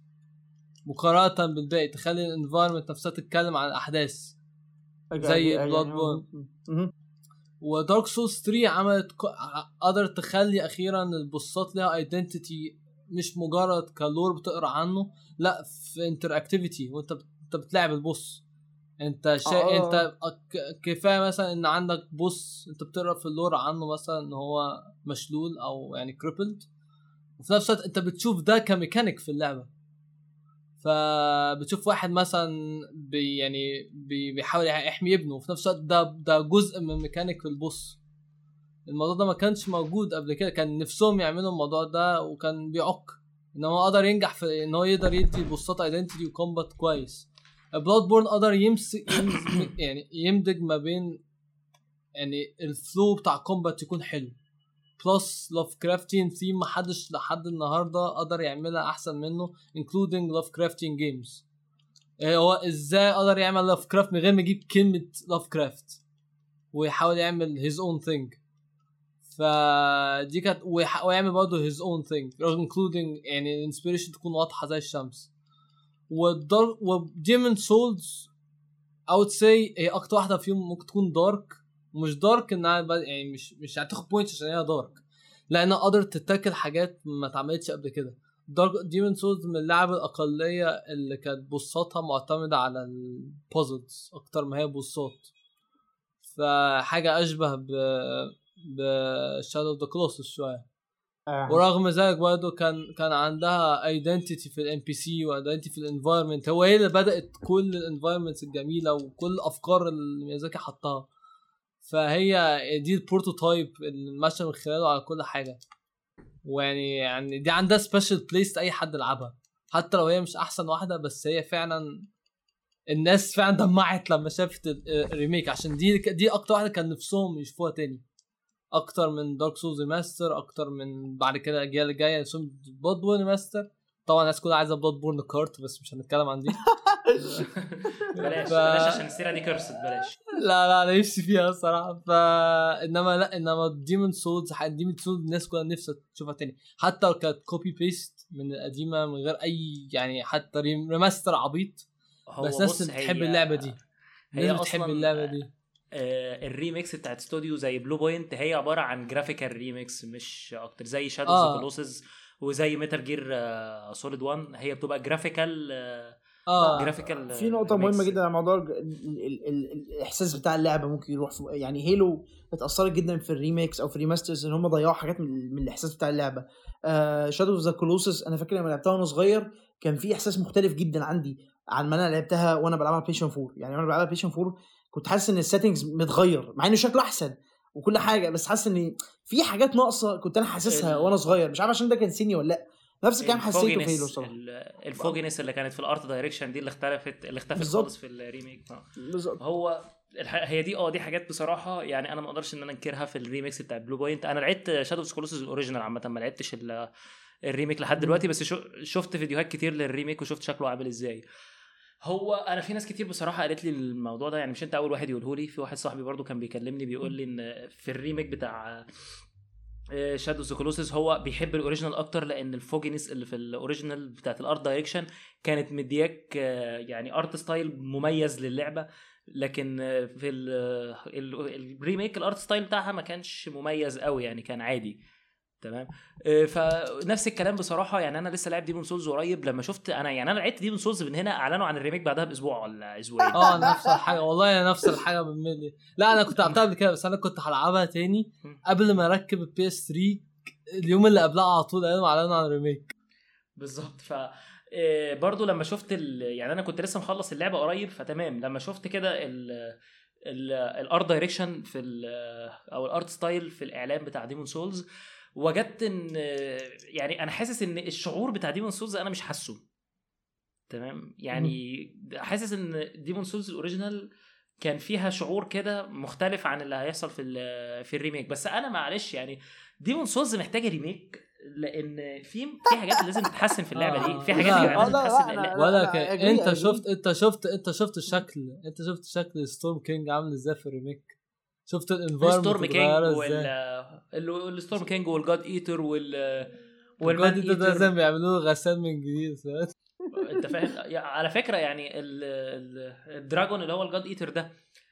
مقارنه بالباقي، تخلي الانفايرمنت نفسها تتكلم عن الاحداث زي بلاد بورن. ودارك سولز تلاتة عملت قدرت تخلي اخيرا البوسات لها ايدنتيتي، مش مجرد كالور بتقرا عنه، لا في انتر اكتيفيتي وانت انت بتلعب البوس. انت شا... آه. انت كفايه مثلا ان عندك بص انت بتقرا في اللور عنه مثلا ان هو مشلول او يعني كريبلد، وفي نفس الوقت انت بتشوف ده كميكانيك في اللعبه. فبتشوف واحد مثلا بي يعني بي بيحاول يحمي ابنه، وفي نفس الوقت ده ده جزء من ميكانيك في البوس. الموضوع ده ما كانش موجود قبل كده، كان نفسهم يعملوا الموضوع ده وكان بيعك ان هو قدر ينجح في ان هو يقدر يدي بوسات ايدنتيتي وكومبات كويس. بلاد بورن قدر يمسك يعني يمدج ما بين يعني الفلو بتاع كومبات يكون حلو بلس لاف كرافتين ثيم محدش لحد النهارده قدر يعملها احسن منه including لاف كرافتين جيمز. هو ازاي قدر يعمل لاف كرافت من غير ما يجيب كلمه لاف كرافت ويحاول يعمل his own thing. فدي كانت ويعمل برضه his own thing including يعني الانسبيريشن تكون واضحه زي الشمس. والدارك وديمون سولز I would say هي اكتر واحده فيهم ممكن تكون دارك، ومش دارك انها يعني مش مش هتاخد بوينتس عشان هي دارك، لانها قدرت تتاكل حاجات ما اتعملتش قبل كده. دارك ديمون سولز من اللعب الاقليه اللي كانت بوصاتها معتمده على البازلز اكتر ما هي بوصات، فحاجه اشبه ب بشادو اوف ذا كلوسس شويه. آه. ورغم ذلك برضه كان كان عندها ايدنتيتي في الام بي سي وايدنتيتي في الانفايرمنت. هو هي اللي بدات كل الانفايرمنتس الجميله وكل الافكار اللي ميازاكي حطها، فهي دي البروتوتايب اللي ماشي من خلاله على كل حاجه. ويعني يعني دي عندها سبيشال بليس اي حد يلعبها حتى لو هي مش احسن واحده، بس هي فعلا الناس فعلا دمعت لما شافت الريميك، عشان دي دي اكتر واحده كان نفسهم يشوفوها تاني اكتر من دارك سولز ريماستر، اكتر من بعد كده الاجيال الجايه يسمى بلاد بورن ريماستر. طبعا الناس كلها عايزه بلاد بورن كارت بس مش هنتكلم عن دي. بلاش ف... بلاش عشان السيره دي كرست بلاش. لا لا انا نفسي فيها الصراحه. ف انما لا انما ديمون سولز ديمون سولز الناس كلها نفسها تشوفها تاني حتى لو كانت كوبي بيست من القديمه من غير اي يعني حتى ريماستر عبيط، بس الناس بتحب اللعبه دي. هي الناس بتحب اللعبه دي. آه الريميكس بتاعت استوديو زي بلو بوينت هي عباره عن جرافيكال ريميكس مش اكتر، زي شادوز اوف كلوسز وزي ميتال جير آه سوليد وان هي بتبقى جرافيكال آه اه جرافيكال. في نقطه مهمه جدا على موضوع ال ال ال الاحساس بتاع اللعبه ممكن يروح يعني هيلو اتاثرت جدا في الريميكس او في الريماسترز ان هم ضيعوا حاجات من, من الاحساس بتاع اللعبه. آه شادوز اوف كلوسز انا فاكر لما لعبتها وانا صغير كان في احساس مختلف جدا عندي عن ما انا لعبتها وانا بلعبها بلايستيشن فور. يعني وانا بلعبها بلايستيشن فور كنت حاسس ان السيتنجز متغير مع انه شكله احسن وكل حاجه، بس حاسس ان في حاجات ناقصه كنت انا حاسسها وانا صغير، مش عارف عشان ده كان سني ولا لا. نفس الكلام حسيته في هيلو صراحه. الفوجينس اللي كانت في الارت دايركشن دي اللي اختلفت اللي اختفت خالص في الريميك. بالظبط. هو هي دي اه دي حاجات بصراحه يعني انا ما اقدرش ان انا انكرها في الريميكس بتاع بلو بوينت. انا لعبت شادوز كلوسز الاوريجينال عامه، ما لعبتش الريميك لحد دلوقتي، بس شفت فيديوهات كتير للريميك وشفت شكله عامل ازاي. هو انا في ناس كتير بصراحه قالت لي الموضوع ده، يعني مش انت اول واحد يقوله لي، في واحد صاحبي برضو كان بيكلمني بيقول لي ان في الريميك بتاع شادوز اوف كلوسز هو بيحب الاوريجينال اكتر، لان الفوجينس اللي في الاوريجينال بتاعت الارت دايركشن كانت مدياك يعني ارت ستايل مميز للعبه، لكن في الريميك الارت ستايل بتاعها ما كانش مميز قوي، يعني كان عادي. تمام. فنفس الكلام بصراحه، يعني انا لسه لاعب ديمون سولز قريب، لما شفت انا يعني انا لعبت ديمون سولز من هنا اعلنوا عن الريميك بعدها باسبوع ولا اسبوعين. اه نفس الحاجه والله نفس الحاجه بالملي. لا انا كنت لعبتها قبل كده بس انا كنت هلعبها تاني قبل ما اركب البي اس ثري اليوم اللي قبلها على طول قالوا اعلنوا عن الريميك بالظبط. ف برضو لما شفت ال... يعني انا كنت لسه مخلص اللعبه قريب، فتمام لما شفت كده ال الارت دايركشن في ال او الارت ستايل في الاعلان بتاع ديمون سولز، وجدت ان يعني انا حاسس ان الشعور بتاع ديمون سولز انا مش حاسه. تمام. يعني حاسس ان ديمون سولز الاوريجينال كان فيها شعور كده مختلف عن اللي هيحصل في في الريميك. بس انا معلش يعني ديمون سولز محتاجه ريميك، لان في في حاجات لازم تتحسن في اللعبه دي، في حاجات لازم تتحسن. ولا انت شفت انت شفت انت شفت الشكل انت شفت شكل ستورم كينج عامل ازاي في الريميك؟ شفت الانفايرمنت ستورم كينج وال الستورم كينج والجاد ايتر وال والجاد ايتر ده زي ما بيعملوه غسان من جديد. انت فاهم؟ على فكره يعني الدراجون اللي هو الجاد ايتر ده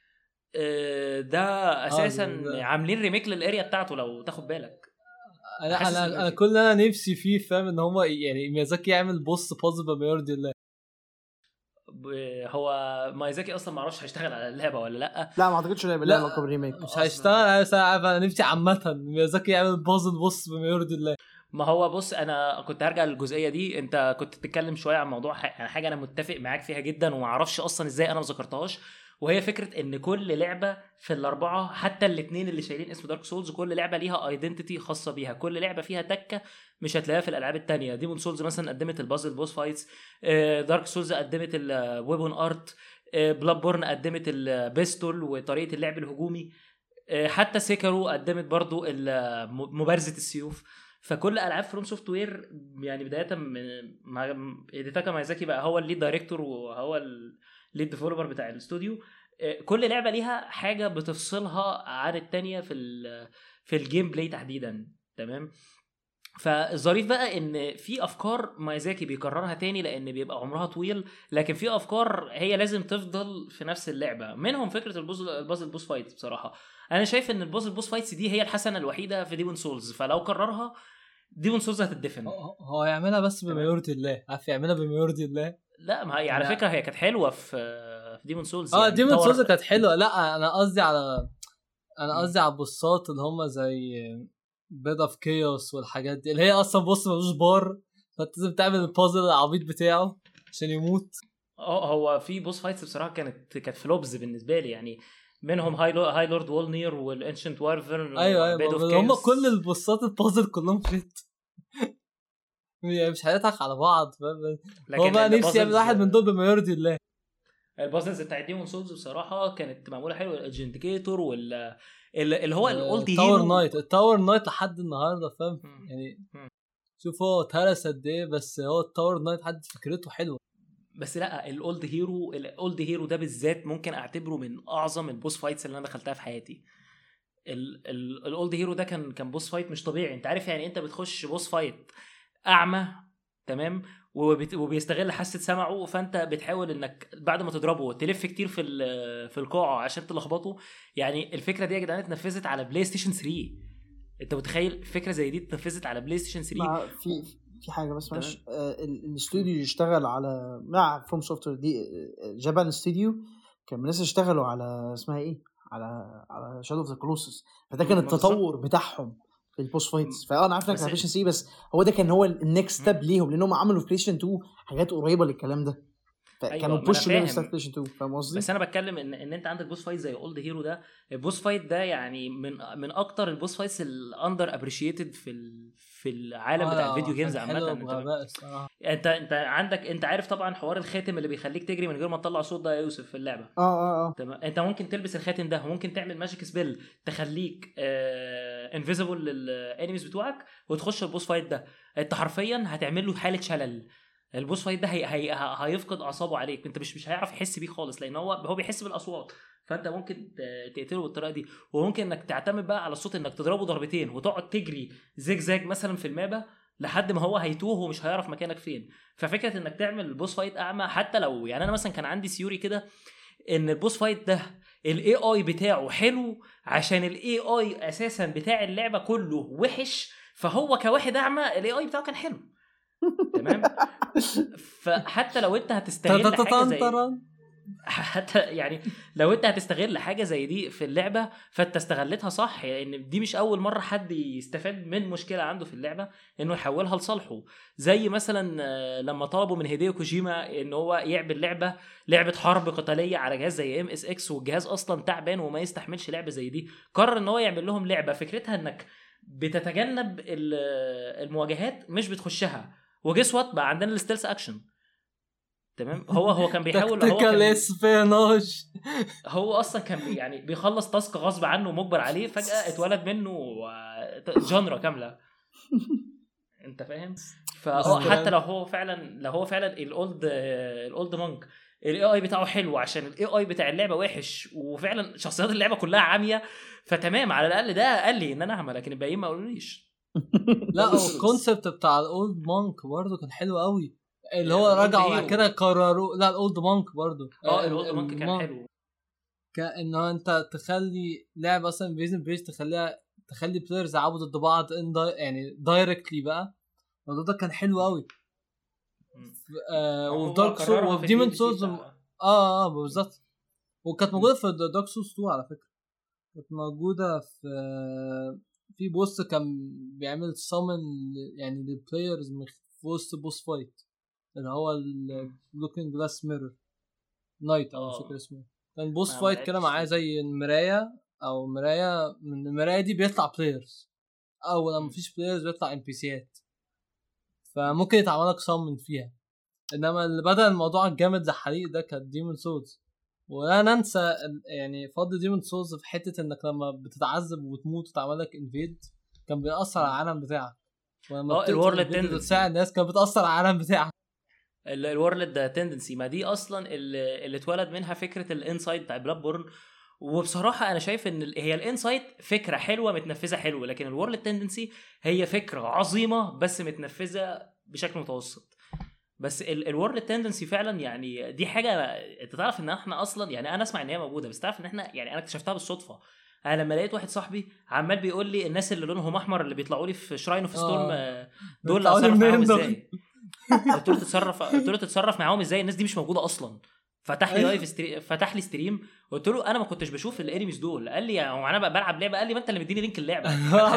ده اساسا عاملين ريميك للاريا بتاعته لو تاخد بالك. انا انا انا كل انا نفسي فيه فاهم ان هم يعني ميازاكي يعمل بوس بازل بما يرضي الله. هو مايزاكي اصلا ما اعرفش هيشتغل على اللعبه ولا لا. لا ما اعتقدش انه هيبقى لعبه ريميك، مش هيشتغل. انا نفسي عامه ميازاكي يعمل بازل بص بما يرضي الله. ما هو بص انا كنت هرجع للجزئيه دي. انت كنت بتتكلم شويه عن موضوع يعني حاجه انا متفق معاك فيها جدا وما اعرفش اصلا ازاي انا ما ذكرتهاش، وهي فكره ان كل لعبه في الاربعه حتى الاثنين اللي شايلين اسم دارك سولز كل لعبه ليها ايدنتيتي خاصه بيها، كل لعبه فيها تكه مش هتلاقيها في الالعاب التانية. ديمون سولز مثلا قدمت البازل بوس فايتس، دارك سولز قدمت الويبون ارت، بلاد بورن قدمت البيستول وطريقه اللعب الهجومي، حتى سيكارو قدمت برضو مبارزه السيوف. فكل العاب فروم سوفت وير يعني بدايه من هيديتاكا مايزاكي بقى هو الليد دايركتور وهو الليد ديفلوبر بتاع الاستوديو، كل لعبه ليها حاجه بتفصلها عن التانية في في الجيم بلاي تحديدا. تمام. فالظريف بقى ان في افكار مايزاكي بيكررها تاني لان بيبقى عمرها طويل، لكن في افكار هي لازم تفضل في نفس اللعبه، منهم فكره البازل البازل بوس فايت. بصراحه انا شايف ان البازل بوس فايتس دي هي الحسنه الوحيده في ديمون سولز، فلو كررها ديمون سولز هتدفن. هو يعملها بس بما يرضي الله، عارف يعملها بما يرضي الله. لا ما هي على فكره هي كانت حلوه في في ديمون سولز. اه يعني ديمون سولز كانت حلوه. لا انا قصدي على انا قصدي على البوسات اللي هم زي بيد اوف كيوس والحاجات دي اللي هي اصلا بص ملوش بار، فانت لازم تعمل البازل العبيط بتاعه عشان يموت. اه هو في بوس فايتس بصراحه كانت كانت فلوبز بالنسبه لي، يعني منهم هاي لو... هاي لورد وولنير والانشنت وارفرن. ايوه ايوه هم كل البوسات البازل كلهم فيت يعني مش هيضحك على بعض. هو بقى نفسي يعمل واحد من دول بما يرضي الله. البازلز بتاع ديمون سولز بصراحه كانت معموله حلوه، الاجنديكيتور وال اللي هو الاولد هيرو التاور نايت. التاور نايت لحد النهارده فاهم يعني م. شوف هو اتهرس قد ايه، بس هو التاور نايت حد فكرته حلوه. بس لا الاولد هيرو الاولد هيرو ده بالذات ممكن اعتبره من اعظم البوس فايتس اللي انا دخلتها في حياتي. الاولد هيرو ده كان كان بوس فايت مش طبيعي. انت عارف يعني انت بتخش بوس فايت اعمى تمام وبيستغل حاسه سمعه، فانت بتحاول انك بعد ما تضربه تلف كتير في في القاعه عشان تلخبطه. يعني الفكره دي يا جدعان اتنفذت على بلاي ستيشن ثري. انت متخيل فكره زي دي اتنفذت على بلاي ستيشن ثري؟ في في حاجه بس مش آه الاستوديو يشتغل على مع فروم سوفت وير دي جابان استوديو كان الناس اشتغلوا على اسمها ايه على على شادو اوف ذا كلوسس، فده كان التطور بتاعهم في البوس فايتس. فانا عارف انك على بلايستيشن سي بس هو ده كان هو النكست ستيب ليهم لانهم عملوا في بلايستيشن تو حاجات قريبه للكلام ده، فكانوا أيوة بوش لهم ستارت بلايستيشن تو. فاهم قصدي؟ بس انا بتكلم ان ان انت عندك بوس فايت زي اولد هيرو ده. البوس فايت ده يعني من من اكتر البوس فايتس الاندر ابريشيتد في ال... في العالم بتاع الفيديو جيمز عامه. انت انت عندك انت عارف طبعا حوار الخاتم اللي بيخليك تجري من غير ما تطلع صوت ده يا يوسف في اللعبه. اه اه اه تمام. انت ممكن تلبس الخاتم ده وممكن تعمل ماجيك سبيل تخليك آه انفيزبل للانيميز بتوعك وتخش البوس فايت ده. انت حرفيا هتعمل له حاله شلل. البوس فايت ده هي... هي... هيفقد اعصابه عليك، انت مش مش هيعرف يحس بيه خالص لان هو هو بيحس بالاصوات، فانت ممكن تقتله بالطريقه دي. وممكن انك تعتمد بقى على الصوت انك تضربه ضربتين وتقعد تجري زيج زاج مثلا في المابا لحد ما هو هيتوه ومش هيعرف مكانك فين. ففكره انك تعمل البوس فايت اعمى حتى لو يعني انا مثلا كان عندي سيوري كده ان البوس فايت ده الاي اي بتاعه حلو عشان الاي اي اساسا بتاع اللعبه كله وحش، فهو كواحد اعمى الاي اي بتاعه كان حلو. تمام. فحتى لو انت هتستغل حاجه زي حتى يعني لو انت هتستغل حاجه زي دي في اللعبه فانت استغلتها صح، لان يعني دي مش اول مره حد يستفاد من مشكله عنده في اللعبه انه يحولها لصالحه. زي مثلا لما طلبوا من هيديو كوجيما ان هو يعمل لعبه لعبه حرب قتاليه على جهاز زي ام اس اكس والجهاز اصلا تعبان وما يستحملش لعبه زي دي، قرر ان هو يعمل لهم لعبه فكرتها انك بتتجنب المواجهات مش بتخشها. وجس وات بقى عندنا الستيلز اكشن. تمام. هو هو كان بيحاول هو كان هو اصلا كان يعني بيخلص تاسك غصب عنه مجبر عليه، فجاه اتولد منه جانرا كامله. انت فاهم؟ فحتى لو هو فعلا لو هو فعلا الاولد الاولد مونك الاي اي بتاعه حلو عشان الاي اي بتاع اللعبه وحش وفعلا شخصيات اللعبه كلها عاميه، فتمام على الاقل ده قال لي ان انا اعمل، لكن الباقيين ما قالوليش. لا الكونسبت بتاع الاولد مونك برضه كان حلو قوي، اللي هو رجعوا بعد كده قرروا لا الاولد مونك برضه اه الاولد مونك كان حلو كأنه انت تخلي لعبه اصلا بيزن بيج تخليها تخلي بلايرز يلعبوا ضد بعض يعني دايركتلي بقى. الموضوع ده كان حلو قوي. آه ودارك سولز وديمون سولز اه اه بالظبط. وكانت موجوده في دارك سولز اتنين على فكره، كانت موجوده في في بوست كان بيعمل سامن يعني للبلايرز في وسط بوس فايت اللي هو اللوكينج جلاس ميرور نايت او مش فاكر اسمه. كان بوس فايت كده معاه زي المرايه او مرايه، من المرايه دي بيطلع بلايرز، او لما مفيش بلايرز بيطلع ام بي سيات، فممكن يتعمل لك سامن فيها. انما اللي بدأ الموضوع الجامد زي حريق ده كان ديمون سولز. ولا ننسى يعني فضل ديمون سولز في حته انك لما بتتعذب وتموت وتعمل لك انفيد كان بيأثر على العالم بتاعك، ولما الورلد تنسى الناس كانت بتأثر على العالم بتاعك. الورلد تندنسي ما دي اصلا اللي, اللي اتولد منها فكره الانسايد بتاع بلاد بورن. وبصراحه انا شايف ان هي الانسايد فكره حلوه متنفذه حلوه، لكن الورلد تندنسي هي فكره عظيمه بس متنفذه بشكل متوسط. بس الورلد تندنسي فعلا يعني دي حاجه انت تعرف ان احنا اصلا يعني انا اسمع ان هي موجوده، بس تعرف ان احنا يعني انا اكتشفتها بالصدفه. انا لما لقيت واحد صاحبي عمال بيقول لي الناس اللي لونهم احمر اللي بيطلعوا لي في شراين اوف ستورم دول اتصرف معاهم ازاي؟ قلت له تتصرف قلت له تتصرف معاهم ازاي؟ الناس دي مش موجوده اصلا. فتح لي لايف ستريم فتح لي ستريم قلت له انا ما كنتش بشوف الانيميز دول. قال لي هو انا بلعب لعبه؟ قال لي ما انت اللي مديني لينك اللعبه.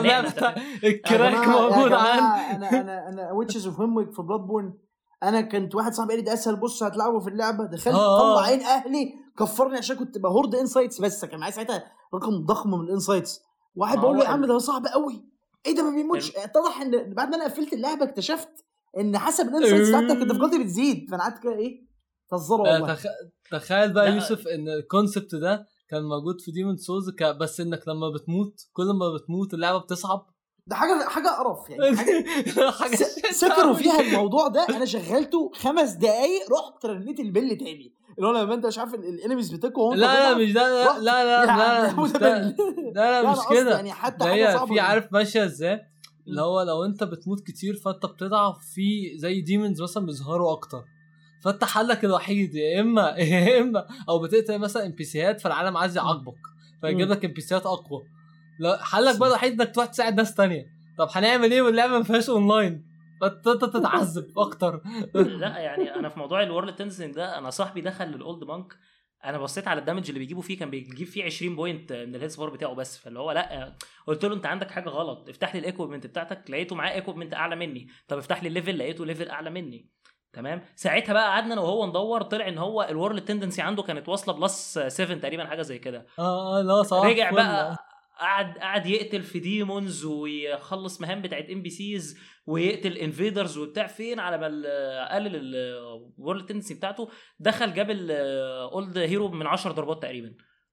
الكراك موجود عندي. انا انا انا ويتشز اوف هيمويك في بلاد بورن. انا كنت واحد صاحبي قال لي ده اسهل بص هتلعبه في اللعبه، دخلت طلع عين اهلي كفرني عشان كنت بهورد انسايتس، بس كان معايا ساعتها رقم ضخم من الانسايتس. واحد بقول له يا عم ده صعب قوي، ايه ده ما بيموتش. اتضح ان بعد ما انا قفلت اللعبه اكتشفت ان حسب الانسايتس بتاعتك الديفيكولتي بتزيد، فانا قعدت كده ايه تهزروا والله. تخ... تخيل بقى يوسف ان الكونسبت ده كان موجود في ديمون سولز ك... بس انك لما بتموت كل ما بتموت اللعبه بتصعب. ده حاجه حاجه قرف يعني. حاجه سكروا فيها الموضوع ده. انا شغلته خمس دقايق رحت رنيت البل تاني اللي هو لما انت مش عارف الانيميز بتاعكم. لا لا مش ده لا لا لا لا مش ده لا لا مش كده يعني. حتى هي في عارف ماشيه ازاي اللي هو لو انت بتموت كتير فانت بتضعف في زي ديمونز مثلا بيظهروا اكتر، فانت حلك الوحيد يا اما يا اما او بتقتل مثلا ام بي سيات فالعالم عايز يعاقبك فيجيب لك ام بي سيات اقوى. لا حلك بقى الوحيد انك تروح تساعد ناس تانية. طب هنعمل ايه واللعبه ما فيهاش اونلاين؟ فانت تتعذب اكتر. لا يعني انا في موضوع الورلد تنزنج ده انا صاحبي دخل للاولد بانك، انا بصيت على الدامج اللي بيجيبوا فيه كان بيجيب فيه عشرين بوينت من الهيلث بار بتاعه بس. فاللي هو لا قلت له انت عندك حاجه غلط، افتح لي الايكويبمنت بتاعتك لقيته معاه ايكويبمنت اعلى مني. طب افتح لي الليفل لقيته ليفل اعلى مني. تمام. ساعتها بقى قعدنا انا وهو ندور، طلع ان هو الورلد تندنسي عنده كانت واصله بلس سبعة تقريبا حاجه زي كده. اه لا صح. رجع بقى قعد قعد يقتل في ديمونز ويخلص مهام بتاعت ام بي سيز ويقتل انفيدرز وبتاع فين على ما قلل الورلد تندنسي بتاعته. دخل جاب الاولد هيرو من عشر ضربات تقريبا.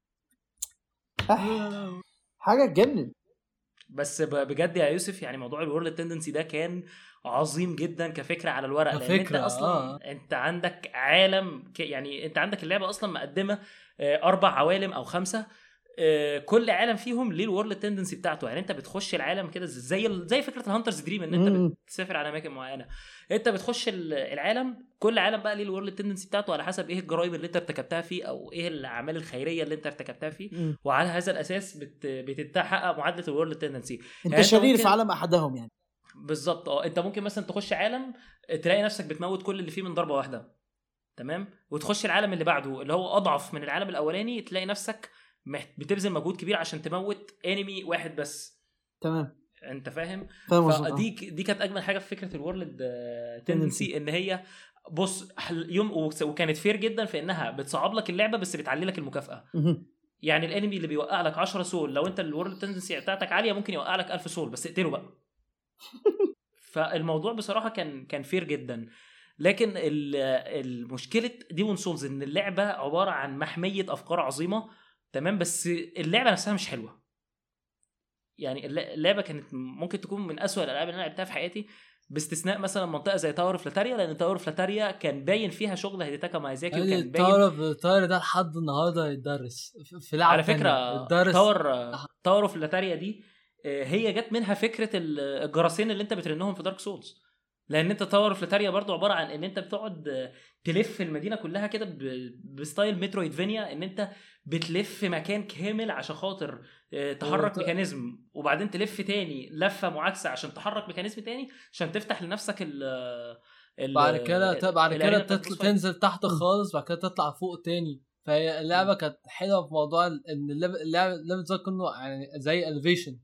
حاجه تجنن. بس بجد يا يوسف يعني موضوع الورلد تندنسي ده كان عظيم جدا كفكره على الورق، لان انت اصلا آه. انت عندك عالم يعني انت عندك اللعبه اصلا مقدمه اربع عوالم او خمسه، كل عالم فيهم ليه الورلد تندنسي بتاعته. يعني انت بتخش العالم كده زي زي فكره الهانترز دريم ان انت بتسافر على اماكن معينه. انت بتخش العالم كل عالم بقى ليه الورلد تندنسي بتاعته على حسب ايه الجرائم اللي انت ارتكبتها فيه او ايه الاعمال الخيريه اللي انت ارتكبتها فيه، وعلى هذا الاساس بت... بتتحقق معادله الورلد تندنسي. انت يعني شرير في عالم احدهم يعني. بالظبط اه. انت ممكن مثلا تخش عالم تلاقي نفسك بتموت كل اللي فيه من ضربه واحده، تمام، وتخش العالم اللي بعده اللي هو اضعف من العالم الاولاني تلاقي نفسك بتبذل مجهود كبير عشان تموت انمي واحد بس. تمام. انت فاهم؟ فدي دي كانت اجمل حاجه في فكره الورلد تندنسي ان هي بص يوم وكانت فير جدا في انها بتصعب لك اللعبه بس بتعلي لك المكافاه. يعني الانمي اللي بيوقع لك عشرة سول لو انت الورلد تندنسي بتاعتك عاليه ممكن يوقع لك ألف سول بس اقتله بقى. فالموضوع بصراحه كان كان فير جدا. لكن المشكله ديمون سولز ان اللعبه عباره عن محميه افكار عظيمه، تمام، بس اللعبه نفسها مش حلوه. يعني اللعبه كانت ممكن تكون من اسوأ الالعاب اللي انا لعبتها في حياتي باستثناء مثلا منطقه زي تاور فلاتاريا، لان تاور فلاتاريا كان باين فيها شغل هيديتاكا مايزاكي وكان باين تاور فلاتاريا ده لحد النهارده يتدرس في لعبه. على فكره تاور تاور فلاتاريا دي هي جت منها فكره الجراسين اللي انت بترنهم في دارك سولز، لان انت تاور فلاتاريا برضو عباره عن ان انت بتقعد تلف المدينه كلها كده بستايل مترويدفانيا، ان انت بتلف مكان كامل عشان خاطر تحرك ميكانيزم وبعدين تلف تاني لفه معاكسه عشان تحرك ميكانيزم تاني عشان تفتح لنفسك بعد كده بعد كده تنزل تحت خالص، بعد كده تطلع فوق تاني. فهي اللعبه كانت حلوه في موضوع ان اللعبه اللعبه زي كله يعني زي الفيشن،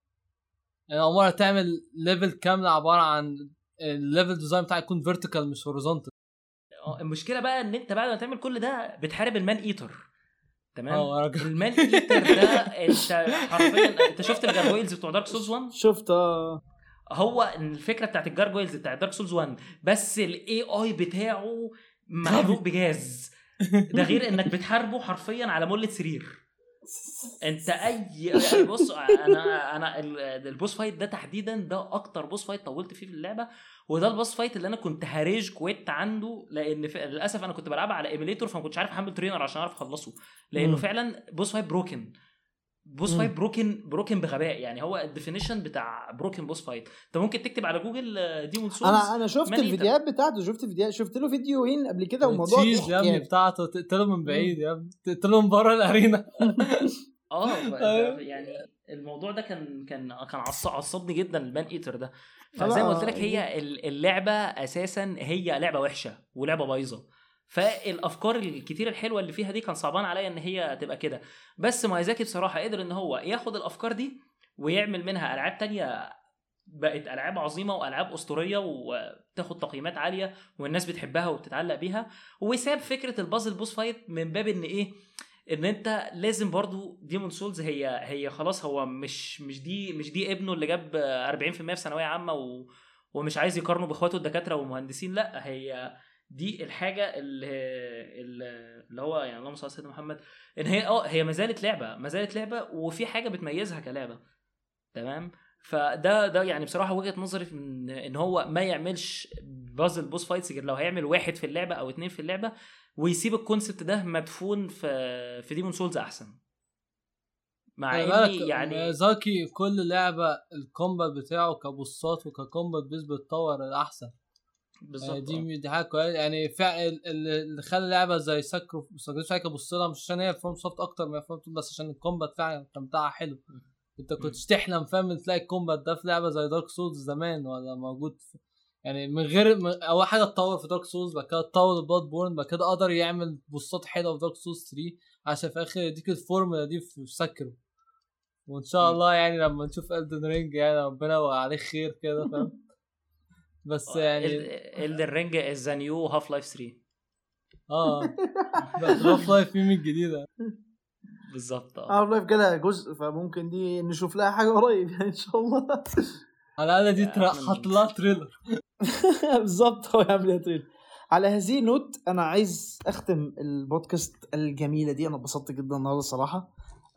يعني عمرها تعمل ليفل كامل عباره عن الليفل ديزاين بتاعه يكون فيرتيكال مش هوريزونتال. المشكله بقى ان انت بعد ما تعمل كل ده بتحارب المان ايتر. تمام. المان المال ايتر ده انت حرفيا انت شفت الجارجويلز بتوع دارك سولز واحد؟ شفت هو الفكره بتاعت الجارجويلز بتاع دارك سولز واحد، بس الاي اي بتاعه محروق بجاز. ده غير انك بتحاربه حرفيا على مولة سرير. انت اي بص انا انا البوس فايت ده تحديدا ده اكتر بوس فايت طولت فيه في اللعبه، وده البوس فايت اللي انا كنت هاريج كويت عنده، لان للاسف انا كنت بلعبها على ايميليتور فما كنتش عارف احمل ترينر عشان اعرف اخلصه، لانه م. فعلا بوس فايت بروكن بوس م. فايت بروكن بروكن بغباء. يعني هو الديفينيشن بتاع بروكن بوس فايت. انت ممكن تكتب على جوجل ديمون سولز. انا انا شفت الفيديوهات بتاعته، شفت فيديو شفت له فيديوهين قبل كده، والموضوع ضحك يا ابني بتاعته تقتله من بعيد يا ابني، تقتله من بره الارينا. اه يعني الموضوع ده كان كان كان عصبني جدا المان ايتر ده. فزي ما قلت لك هي اللعبه اساسا هي لعبه وحشه ولعبه بايظه، فالافكار الكتير الحلوه اللي فيها دي كان صعبان عليا ان هي تبقى كده. بس مايزاكي بصراحه قدر ان هو ياخد الافكار دي ويعمل منها العاب تانية بقت العاب عظيمه والعاب اسطوريه وتاخد تقييمات عاليه والناس بتحبها وبتتعلق بيها. وساب فكره البازل بوس فايت من باب ان ايه ان انت لازم برضو ديمون سولز هي هي خلاص هو مش مش دي مش دي ابنه اللي جاب أربعين في المية في ثانويه عامه و ومش عايز يقارنه باخواته الدكاتره والمهندسين. لا هي دي الحاجه اللي اللي هو يعني اللهم صل على سيدنا محمد ان هي اه هي ما زالت لعبه ما زالت لعبه وفي حاجه بتميزها كلعبه. تمام. فده ده يعني بصراحه وجهه نظري في ان هو ما يعملش بازل بوس فايتس غير لو هيعمل واحد في اللعبه او اتنين في اللعبه، ويسيب الكونسبت ده مدفون في في ديمون سولز احسن. مع اني يعني زاكي كل لعبه الكومبات بتاعه كبوسات وككومبات بيس بتطور الاحسن بالظبط. دي دي حاجه كويسه يعني فعلا اللي خلى لعبه زي ساكرو ساكرو كبص لها مش عشان هي فروم سوفت اكتر من فروم، بس عشان الكومبات فعلا كان بتاعها حلو. انت كنت تحلم فاهم تلاقي الكومبات ده في لعبه زي دارك سولز زمان ولا موجود في يعني من غير اول حاجه اتطور في دارك سولز، بعد كده اتطور البلاد بورن، بعد كده قدر يعمل بوستات حلوه في دارك سولز ثلاثة عشان في اخر يديك الفورمولا دي في ساكرو. وان شاء الله يعني لما نشوف إلدن رينج يعني ربنا وعليه خير كده فاهم. بس يعني إلدن رينج از ذا نيو هاف لايف ثلاثة. اه هاف لايف في من جديده بالظبط. اه هاف لايف جالها جزء فممكن دي نشوف لها حاجه قريب يعني ان شاء الله. على الاقل دي حط لها تريلر. بالظبط هو يعمل تريلر. على هذه نوت انا عايز اختم البودكاست الجميله دي. انا اتبسطت جدا النهارده الصراحه.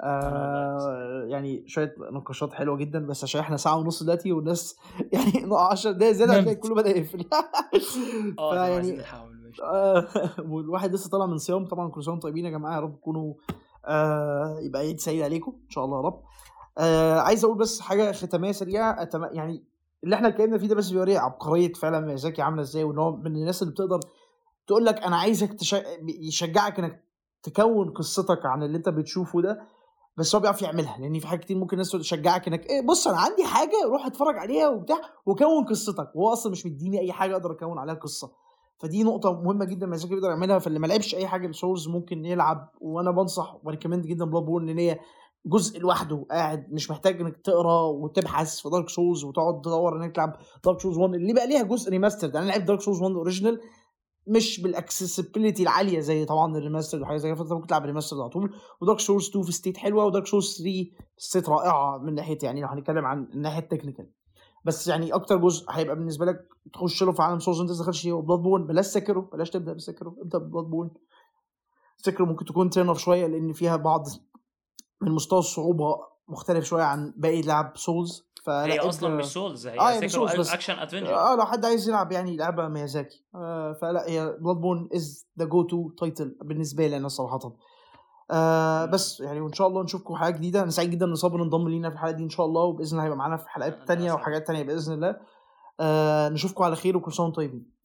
آه يعني شويه نقاشات حلوه جدا، بس عشان احنا ساعه ونص دلوقتي والناس يعني عشر دقايق زياده هتلاقي كله بدا يقفل. اه يعني آه والواحد لسه طالع من صيام طبعا. كل سنه وانتم طيبين يا جماعه، يا رب تكونوا آه يبقى عيد سعيد عليكم ان شاء الله يا رب. آه عايز اقول بس حاجه ختاميه سريعه. أتم... يعني اللي احنا اتكلمنا فيه ده بس بيوري عبقريه فعلا ميازاكي عامله ازاي، وان هو من الناس اللي بتقدر تقول لك انا عايزك تش... يشجعك انك تكون قصتك عن اللي انت بتشوفه ده، بس هو بيعرف يعملها. لان في حاجات كتير ممكن الناس تشجعك انك ايه بص انا عندي حاجه روح اتفرج عليها وبتاع وكون قصتك، وهو اصلا مش مديني اي حاجه اقدر اكون عليها قصه. فدي نقطه مهمه جدا ميازاكي بيقدر يعملها. فاللي ما لعبش اي حاجه لسولز ممكن يلعب، وانا بنصح وريكومند جدا بلاد بورن، ان هي جزء لوحده قاعد مش محتاج انك تقرا وتبحث في دارك سولز وتقعد تدور انك تلعب دارك سولز واحد اللي بقى ليها جزء ريماستر. انا لعبت دارك سولز واحد اوريجينال مش بالاكسسبيليتي العاليه زي طبعا الريماستر وحاجه زي كده، فانت ممكن تلعب ريماستر على طول. ودارك سولز اتنين في ستيت حلوه، ودارك سولز ثلاثة ستيت رائعه من ناحيه يعني لو هنتكلم عن الناحيه التكنيكال. بس يعني اكتر جزء هيبقى بالنسبه لك تخش له في عالم سولز انت دخلش فيه بلاد بورن. بلاش سكرو، بلاش تبدا بسكرو، ابدا ببلاد بورن. سكرو ممكن تكون تيرن اوف شويه لان فيها بعض من مستوى الصعوبه مختلف شويه عن باقي لعب سولز. هي اصلا مش سولز، هي آه سكرو اكشن ادفنتشر. اه لو حد عايز يلعب يعني لعبه ميازاكي آه فلا هي بلاد بورن از ذا جو تو تايتل بالنسبه لي انا صراحه. آه بس يعني وان شاء الله نشوفكم حاجه جديده. انا سعيد جدا ان صابر انضم لينا في الحلقه دي ان شاء الله، وباذن الله هيبقى معانا في حلقات تانية وحاجات تانية باذن الله. آه نشوفكم على خير وكل سنه وانتم طيبين.